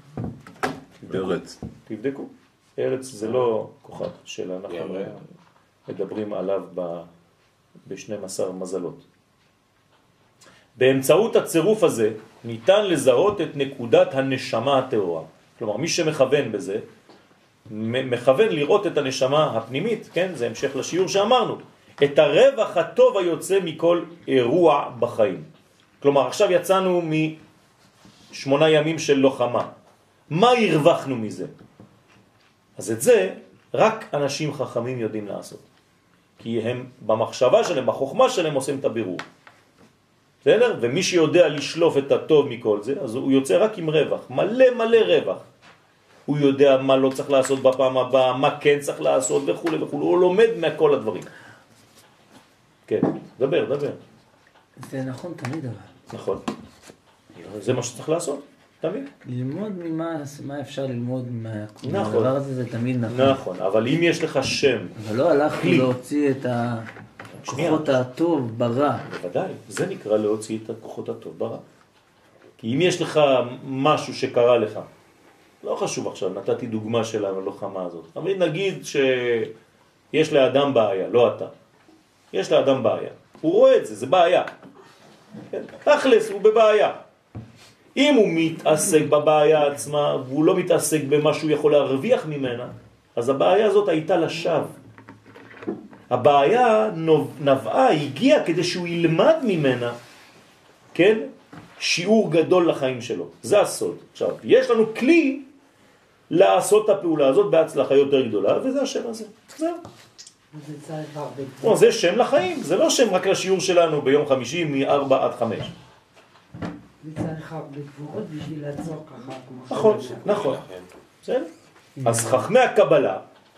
ארץ. תבדקו. ארץ זה לא כוכב שאנחנו מדברים עליו ב-12 מזלות. באמצעות הצירוף הזה ניתן לזהות את נקודת הנשמה הטהורה. כלומר, מי שמכוון בזה, מכוון לראות את הנשמה הפנימית, כן? זה המשך לשיעור שאמרנו. את הרווח הטוב היוצא מכל אירוע בחיים. כלומר, עכשיו יצאנו מ8 ימים של לוחמה. מה הרווחנו מזה? אז את זה רק אנשים חכמים יודעים לעשות. כי הם במחשבה שלהם, בחוכמה שלהם עושים את הבירור. בסדר? ומי שיודע לשלוף את הטוב מכל זה, אז הוא יוצא רק עם רווח. מלא רווח. הוא יודע מה לא צריך לעשות בפעם הבאה, מה כן צריך לעשות וכו' וכו'. הוא לומד מכל הדברים. כן, דבר. זה נכון תמיד אבל. נכון. זה מה שצריך לעשות, תמיד. ללמוד מה אפשר ללמוד מהדבר הזה, זה תמיד נכון. נכון, אבל אם יש לך שם... אבל לא הלכנו להוציא את הכוחות הטוב ברע. בוודאי, זה נקרא להוציא את הכוחות הטוב ברע. כי אם יש לך משהו שקרה לך, לא חשוב עכשיו, נתתי דוגמה של הלוחמה הזאת. אבל נגיד שיש לאדם בעיה, לא אתה. יש לאדם בעיה. הוא רואה את זה, זה בעיה. כן? תכלס, הוא בבעיה. אם הוא מתעסק בבעיה עצמה, והוא לא מתעסק במה שהוא יכול להרוויח ממנה, אז הבעיה הזאת הייתה לשווא. הבעיה נבעה, הגיעה כדי שהוא ילמד ממנה, כן? שיעור גדול לחיים שלו. זה הסוד. עכשיו, יש לנו כלי לעשות את הפעולה הזאת בהצלחה יותר גדולה, וזה השם הזה. זהו. זה צריך הרבה. זה שם לחיים, זה לא שם רק לשיעור שלנו ביום חמישי מ-4 עד 5. זה צריך הרבה גבורות בשביל לעצור ככה. נכון, נכון. בסדר? אז חכמי הקבלה,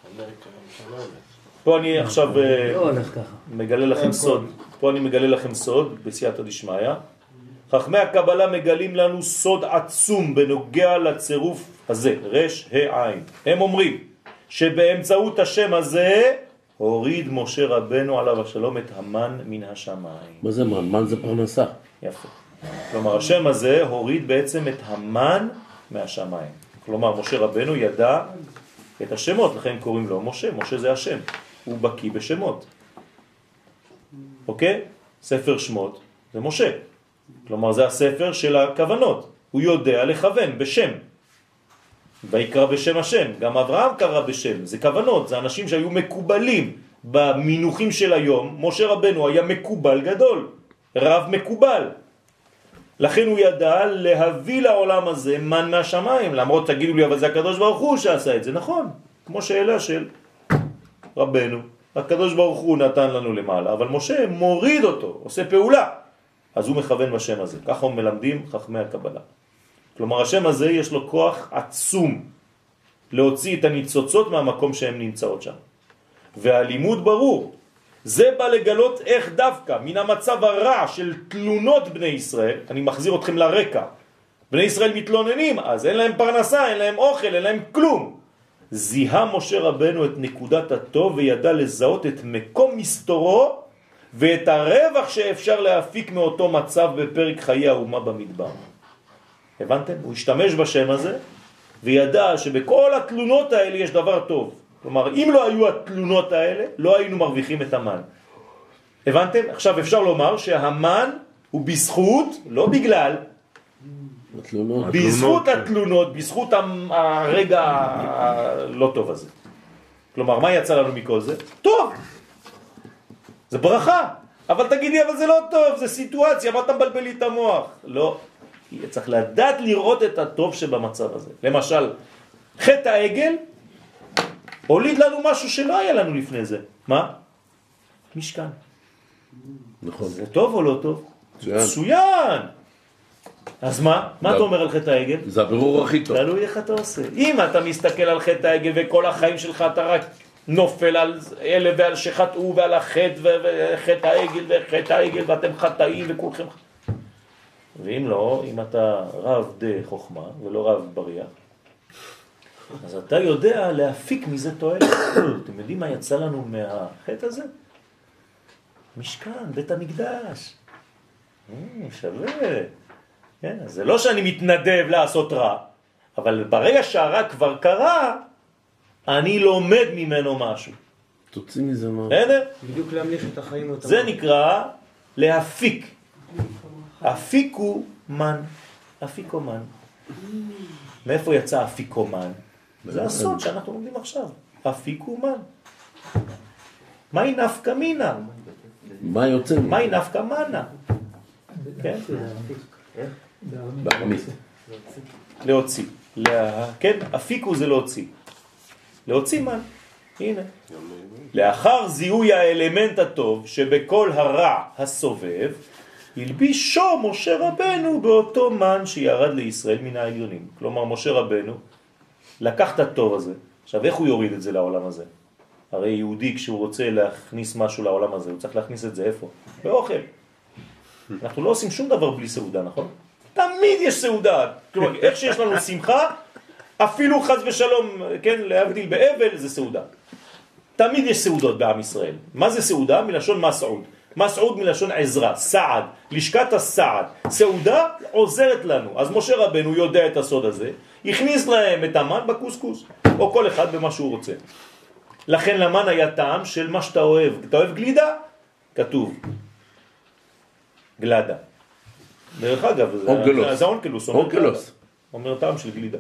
פה אני עכשיו מגלה לכם סוד, פה אני מגלה לכם סוד בסייעתא דשמיא. חכמי הקבלה מגלים לנו סוד עצום בנוגע לצירוף הזה, רש העין. הם אומרים שבאמצעות השם הזה הוריד משה רבנו עליו השלום את המן מן השמיים. מה זה מן? מן זה פרנסה. יפה. כלומר השם הזה הוריד בעצם את המן מהשמיים. כלומר משה רבנו ידע את השמות, לכן קוראים לו משה. משה זה השם, הוא בקיא בשמות. אוקיי? ספר שמות זה משה. כלומר זה הספר של הכוונות. הוא יודע לכוון בשם. ויקרא בשם השם. גם אברהם קרא בשם. זה כוונות, זה אנשים שהיו מקובלים במינוחים של היום. משה רבנו היה מקובל גדול, רב מקובל. לכן הוא ידע להביא לעולם הזה מן מהשמיים. למרות תגידו לי, אבל זה הקדוש ברוך הוא שעשה את זה. נכון, כמו שאלה של רבנו. הקדוש ברוך הוא נתן לנו למעלה, אבל משה מוריד אותו, עושה פעולה. אז הוא מכוון בשם הזה. ככה הם מלמדים חכמי הקבלה. כלומר, השם הזה יש לו כוח עצום להוציא את הניצוצות מהמקום שהן נמצאות שם. והלימוד ברור. זה בא לגלות איך דווקא מן המצב הרע של תלונות בני ישראל, אני מחזיר אתכם לרקע, בני ישראל מתלוננים, אז אין להם פרנסה, אין להם אוכל, אין להם כלום. זיהה משה רבנו את נקודת הטוב וידע לזהות את מקום מסתורו ואת הרווח שאפשר להפיק מאותו מצב בפרק חיי האומה במדבר. הבנתם? הוא השתמש בשם הזה וידע שבכל התלונות האלה יש דבר טוב. כלומר, אם לא היו התלונות האלה, לא היינו מרוויחים את המן. הבנתם? עכשיו אפשר לומר שהמן הוא בזכות, לא בגלל, בזכות התלונות, בזכות הרגע הלא טוב הזה. כלומר, מה יצא לנו מכל זה? טוב. זה ברכה. אבל תגידי, אבל זה לא טוב, זה סיטואציה, מה אתה מבלבל לי את המוח? לא. צריך לדעת לראות את הטוב שבמצב הזה. למשל, חטא העגל הוליד לנו משהו שלא היה לנו לפני זה. מה? משכן. נכון. זה טוב או לא טוב? מצוין. אז מה? מה אתה אומר על חטא העגל? זה הבירור הכי טוב. תלוי איך אתה עושה. אם אתה מסתכל על חטא העגל וכל החיים שלך אתה רק נופל על אלה ועל שחטאו ועל החטא וחטא העגל וחטא העגל ואתם חטאים וכולכם. ואם לא, אם אתה רב דה חוכמה ולא רב בריח, אז אתה יודע להפיק מזה תועלת. אתם יודעים מה יצא לנו מהחטא הזה? משכן, בית המקדש. שווה. כן, אז זה לא שאני מתנדב לעשות רע, אבל ברגע שהרע כבר קרה, אני לומד ממנו משהו. תוציא מזה מה. בסדר? בדיוק להמליך את החיים. זה נקרא להפיק. אפיקו מן. אפיקומן. מאיפה יצא אפיקומן? זה הסוד שאנחנו לומדים עכשיו. אפיקומן. מהי נפקא מינה? מה יוצא? מהי נפקא מנה? כן? בארמית. להוציא. כן, אפיקו זה להוציא. להוציא מן. הנה. לאחר זיהוי האלמנט הטוב שבכל הרע הסובב, הלבישו משה רבנו באותו מן שירד לישראל מן העליונים. כלומר, משה רבנו לקח את הטוב הזה. עכשיו, איך הוא יוריד את זה לעולם הזה? הרי יהודי כשהוא רוצה להכניס משהו לעולם הזה, הוא צריך להכניס את זה איפה? באוכל. אנחנו לא עושים שום דבר בלי סעודה, נכון? תמיד יש סעודה. כלומר, איך שיש לנו שמחה, אפילו חס ושלום, כן, להבדיל באבל, זה סעודה. תמיד יש סעודות בעם ישראל. מה זה סעודה? מלשון מסעוד. מסעוד מלשון עזרה, סעד, לשכת הסעד. סעודה עוזרת לנו. אז משה רבנו יודע את הסוד הזה, הכניס להם את המן בקוסקוס, או כל אחד במה שהוא רוצה. לכן למן היה טעם של מה שאתה אוהב. אתה אוהב גלידה? כתוב. גלדה. דרך אגב, זה אונקלוס. אונקלוס. אומר טעם של גלידה.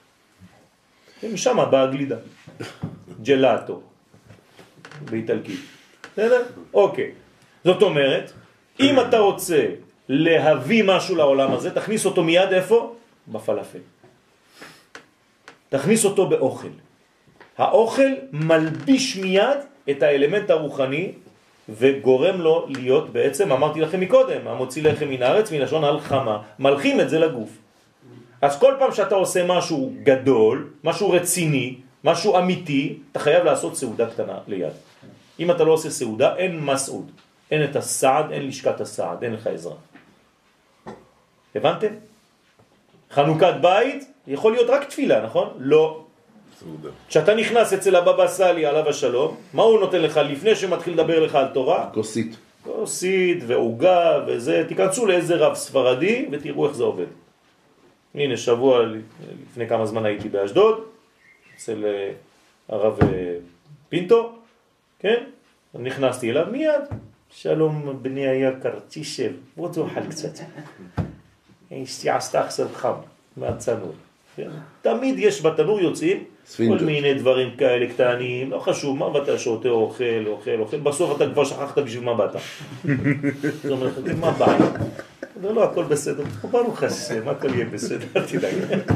משם באה גלידה. ג'לאטו. באיטלקית. בסדר? אוקיי. זאת אומרת, אם אתה רוצה להביא משהו לעולם הזה, תכניס אותו מיד איפה? בפלאפל. תכניס אותו באוכל. האוכל מלביש מיד את האלמנט הרוחני וגורם לו להיות בעצם, אמרתי לכם מקודם, המוציא לחם מן הארץ מלשון הלחמה, מלכים את זה לגוף. אז כל פעם שאתה עושה משהו גדול, משהו רציני, משהו אמיתי, אתה חייב לעשות סעודה קטנה ליד. אם אתה לא עושה סעודה, אין מסעוד. אין את הסעד, אין לשכת הסעד, אין לך עזרה. הבנתם? חנוכת בית יכול להיות רק תפילה, נכון? לא. סעודה. כשאתה נכנס אצל הבבא סאלי עליו השלום, מה הוא נותן לך לפני שמתחיל לדבר לך על תורה? כוסית. כוסית ועוגה וזה. תיכנסו לאיזה רב ספרדי ותראו איך זה עובד. הנה, שבוע לפני כמה זמן הייתי באשדוד, אצל הרב פינטו, כן? נכנסתי אליו מיד. שלום בני היקר, תשב, בוא תאכל קצת. אשתי עשתה עכשיו חם מהצנור. תמיד יש בתנור יוצאים כל מיני דברים כאלה קטנים, לא חשוב מה, ואתה שותה, אוכל, בסוף אתה כבר שכחת בשביל מה באת. זאת אומרת, מה בא? לא, הכל בסדר, ברוך השם, הכל יהיה בסדר, תדאג.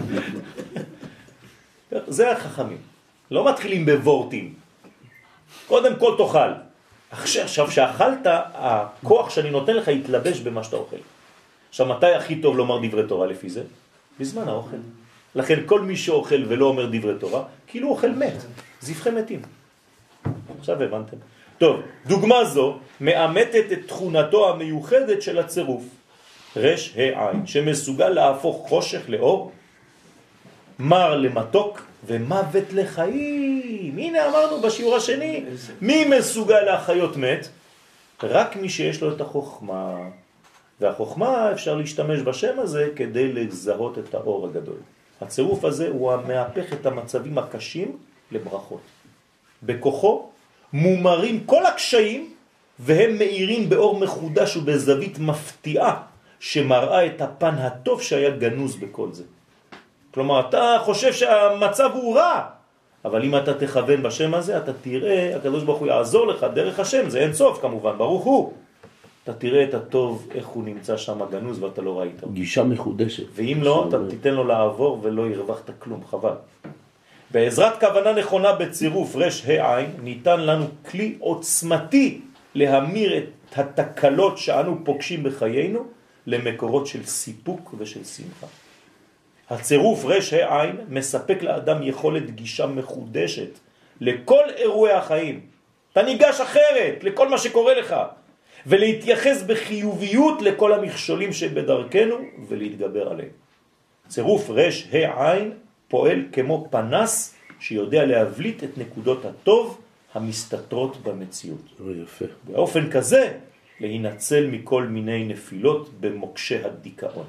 זה החכמים, לא מתחילים בוורטים. קודם כל תאכל. עכשיו שאכלת, הכוח שאני נותן לך יתלבש במה שאתה אוכל. עכשיו, מתי הכי טוב לומר דברי תורה לפי זה? בזמן האוכל. לכן כל מי שאוכל ולא אומר דברי תורה, כאילו אוכל מת, זבחי מתים. עכשיו הבנתם. טוב, דוגמה זו מאמתת את תכונתו המיוחדת של הצירוף, רש העין, שמסוגל להפוך חושך לאור, מר למתוק ומוות לחיים. הנה אמרנו בשיעור השני, מי מסוגל להחיות מת? רק מי שיש לו את החוכמה. והחוכמה אפשר להשתמש בשם הזה כדי לזהות את האור הגדול. הצירוף הזה הוא המהפך את המצבים הקשים לברכות. בכוחו מומרים כל הקשיים והם מאירים באור מחודש ובזווית מפתיעה שמראה את הפן הטוב שהיה גנוז בכל זה. כלומר, אתה חושב שהמצב הוא רע, אבל אם אתה תכוון בשם הזה, אתה תראה, הקדוש ברוך הוא יעזור לך דרך השם, זה אין סוף כמובן, ברוך הוא. אתה תראה את הטוב, איך הוא נמצא שם גנוז ואתה לא ראית. גישה מחודשת. ואם לא, אתה תיתן לו לעבור ולא ירווחת כלום, חבל. בעזרת כוונה נכונה בצירוף רש העין, ניתן לנו כלי עוצמתי להמיר את התקלות שאנו פוגשים בחיינו למקורות של סיפוק ושל שמחה. הצירוף רש העין מספק לאדם יכולת גישה מחודשת לכל אירועי החיים. אתה ניגש אחרת לכל מה שקורה לך. ולהתייחס בחיוביות לכל המכשולים שבדרכנו ולהתגבר עליהם. צירוף רש העין פועל כמו פנס שיודע להבליט את נקודות הטוב המסתתרות במציאות. יפה. באופן כזה להינצל מכל מיני נפילות במוקשי הדיכאון.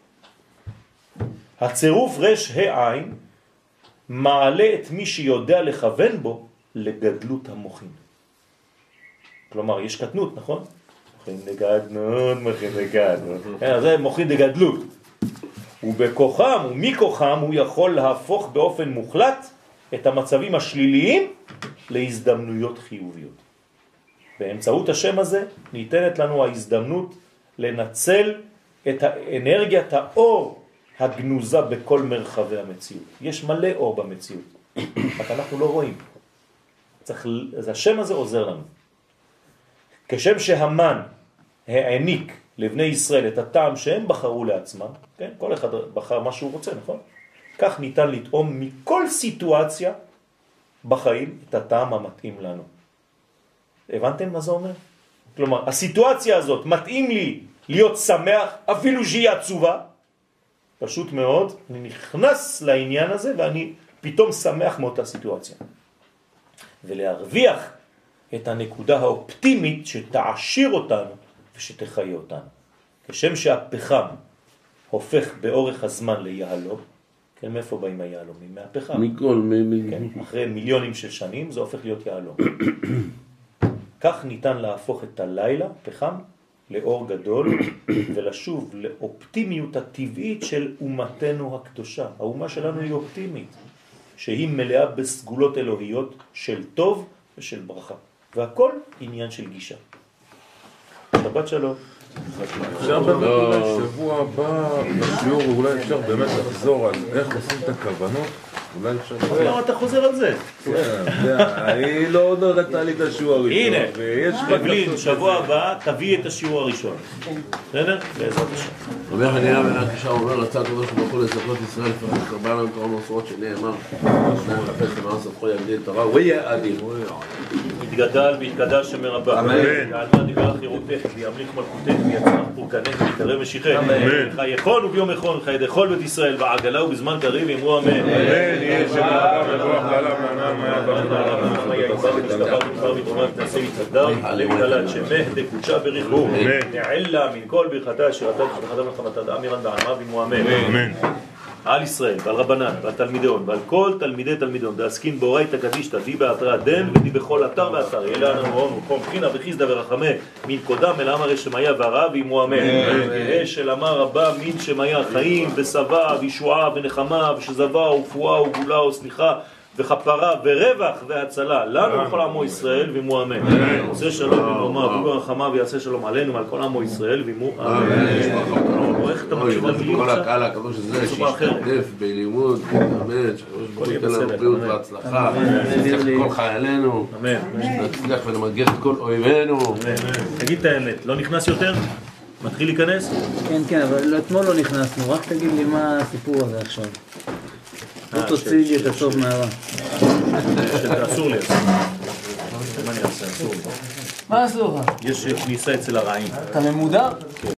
הצירוף רש העין מעלה את מי שיודע לכוון בו לגדלות המוחין. כלומר, יש קטנות, נכון? מוחין דגדלות. זה מוחין דגדלות. ובכוחם ומכוחם הוא יכול להפוך באופן מוחלט את המצבים השליליים להזדמנויות חיוביות. באמצעות השם הזה ניתנת לנו ההזדמנות לנצל את האנרגיית האור הגנוזה בכל מרחבי המציאות. יש מלא אור במציאות, רק אנחנו לא רואים. אז השם הזה עוזר לנו. כשם שהמן העניק לבני ישראל את הטעם שהם בחרו לעצמם, כן? כל אחד בחר מה שהוא רוצה, נכון? כך ניתן לטעום מכל סיטואציה בחיים את הטעם המתאים לנו. הבנתם מה זה אומר? כלומר, הסיטואציה הזאת מתאים לי להיות שמח, אפילו שהיא עצובה, פשוט מאוד, אני נכנס לעניין הזה ואני פתאום שמח מאותה סיטואציה. ולהרוויח את הנקודה האופטימית שתעשיר אותנו ושתחיה אותנו. כשם שהפחם הופך באורך הזמן ליהלום, כן, מאיפה באים היהלומים? מהפחם. כן, אחרי מיליונים של שנים זה הופך להיות יהלום. כך ניתן להפוך את הלילה, פחם, לאור גדול ולשוב לאופטימיות הטבעית של אומתנו הקדושה. האומה שלנו היא אופטימית, שהיא מלאה בסגולות אלוהיות של טוב ושל ברכה. והכל עניין של גישה. שבת שלום. אפשר באמת אולי שבוע הבא בשיעור, אולי אפשר באמת לחזור על איך עושים את הכוונות אולי אפשר... למה אתה חוזר על זה? היא לא נראתה לי את השיעור הראשון. הנה, בבלין, שבוע הבא תביא את השיעור הראשון. בסדר? בעזרת השם. רבי חנינא בן עקישא אומר רצה הקדוש ברוך הוא לזכות ישראל לפרש הרבה להם תורה ומסורות שנאמר שניים חפש למען ספחו יגדיל תורה ויהיה אדיר. יתגדל ויתקדש שם רבה. אמן. ועלמה דיבר חירותך וימליך מלכותך ויצמח פורקנך ויקרב משיחך. חי יכול וביום יכול חי דכל בית ישראל בעגלה ובזמן קריב אמרו אמן. אמן. יהיה שם רבה מבוח לעולם לענן נעשה מתהדר מתעלה מתעלת שמח דקודשה בריחו נעלה מן כל ברכתה שירתה ושלחתה מלחמתה דאמירן בעלמה ואמו אמן. על ישראל ועל רבנן ועל תלמידיון ועל כל תלמידי תלמידיון דעסקין באורייתא קדישתא די באתרא דן ודי בכל אתר ואתר יהיה לנו הון וחום חינה וחיסדא ורחמי מן קודם אל אמר שמיה והרע ואמו אמן. יהא של אמר רבה מן שמיה חיים ושבע וישועה ונחמה ושזבה ופועה וגאולה וסליחה וכפרה ורווח והצלה לנו וכל עמו ישראל ואמו אמן. עושה שלום במרומה וברחמה ויעשה שלום עלינו ועל כל עמו ישראל ואמו אמן. איך אתה מקשיב למילים כל הקהל הקדוש הזה שישתתף בלימוד, אמן, שהקדוש ייתן לנו בריאות והצלחה, נצליח כל חיילינו, נצליח ונמגר את כל אויבינו. תגיד את האמת, לא נכנס יותר? מתחיל להיכנס? כן, אבל אתמול לא נכנסנו, רק תגיד לי מה הסיפור הזה עכשיו. לא תוציא לי את הסוף מהרע. אסור לי. מה אני אעשה? אסור לי. מה אסור לך? יש כניסה אצל הרעים. אתה ממודר?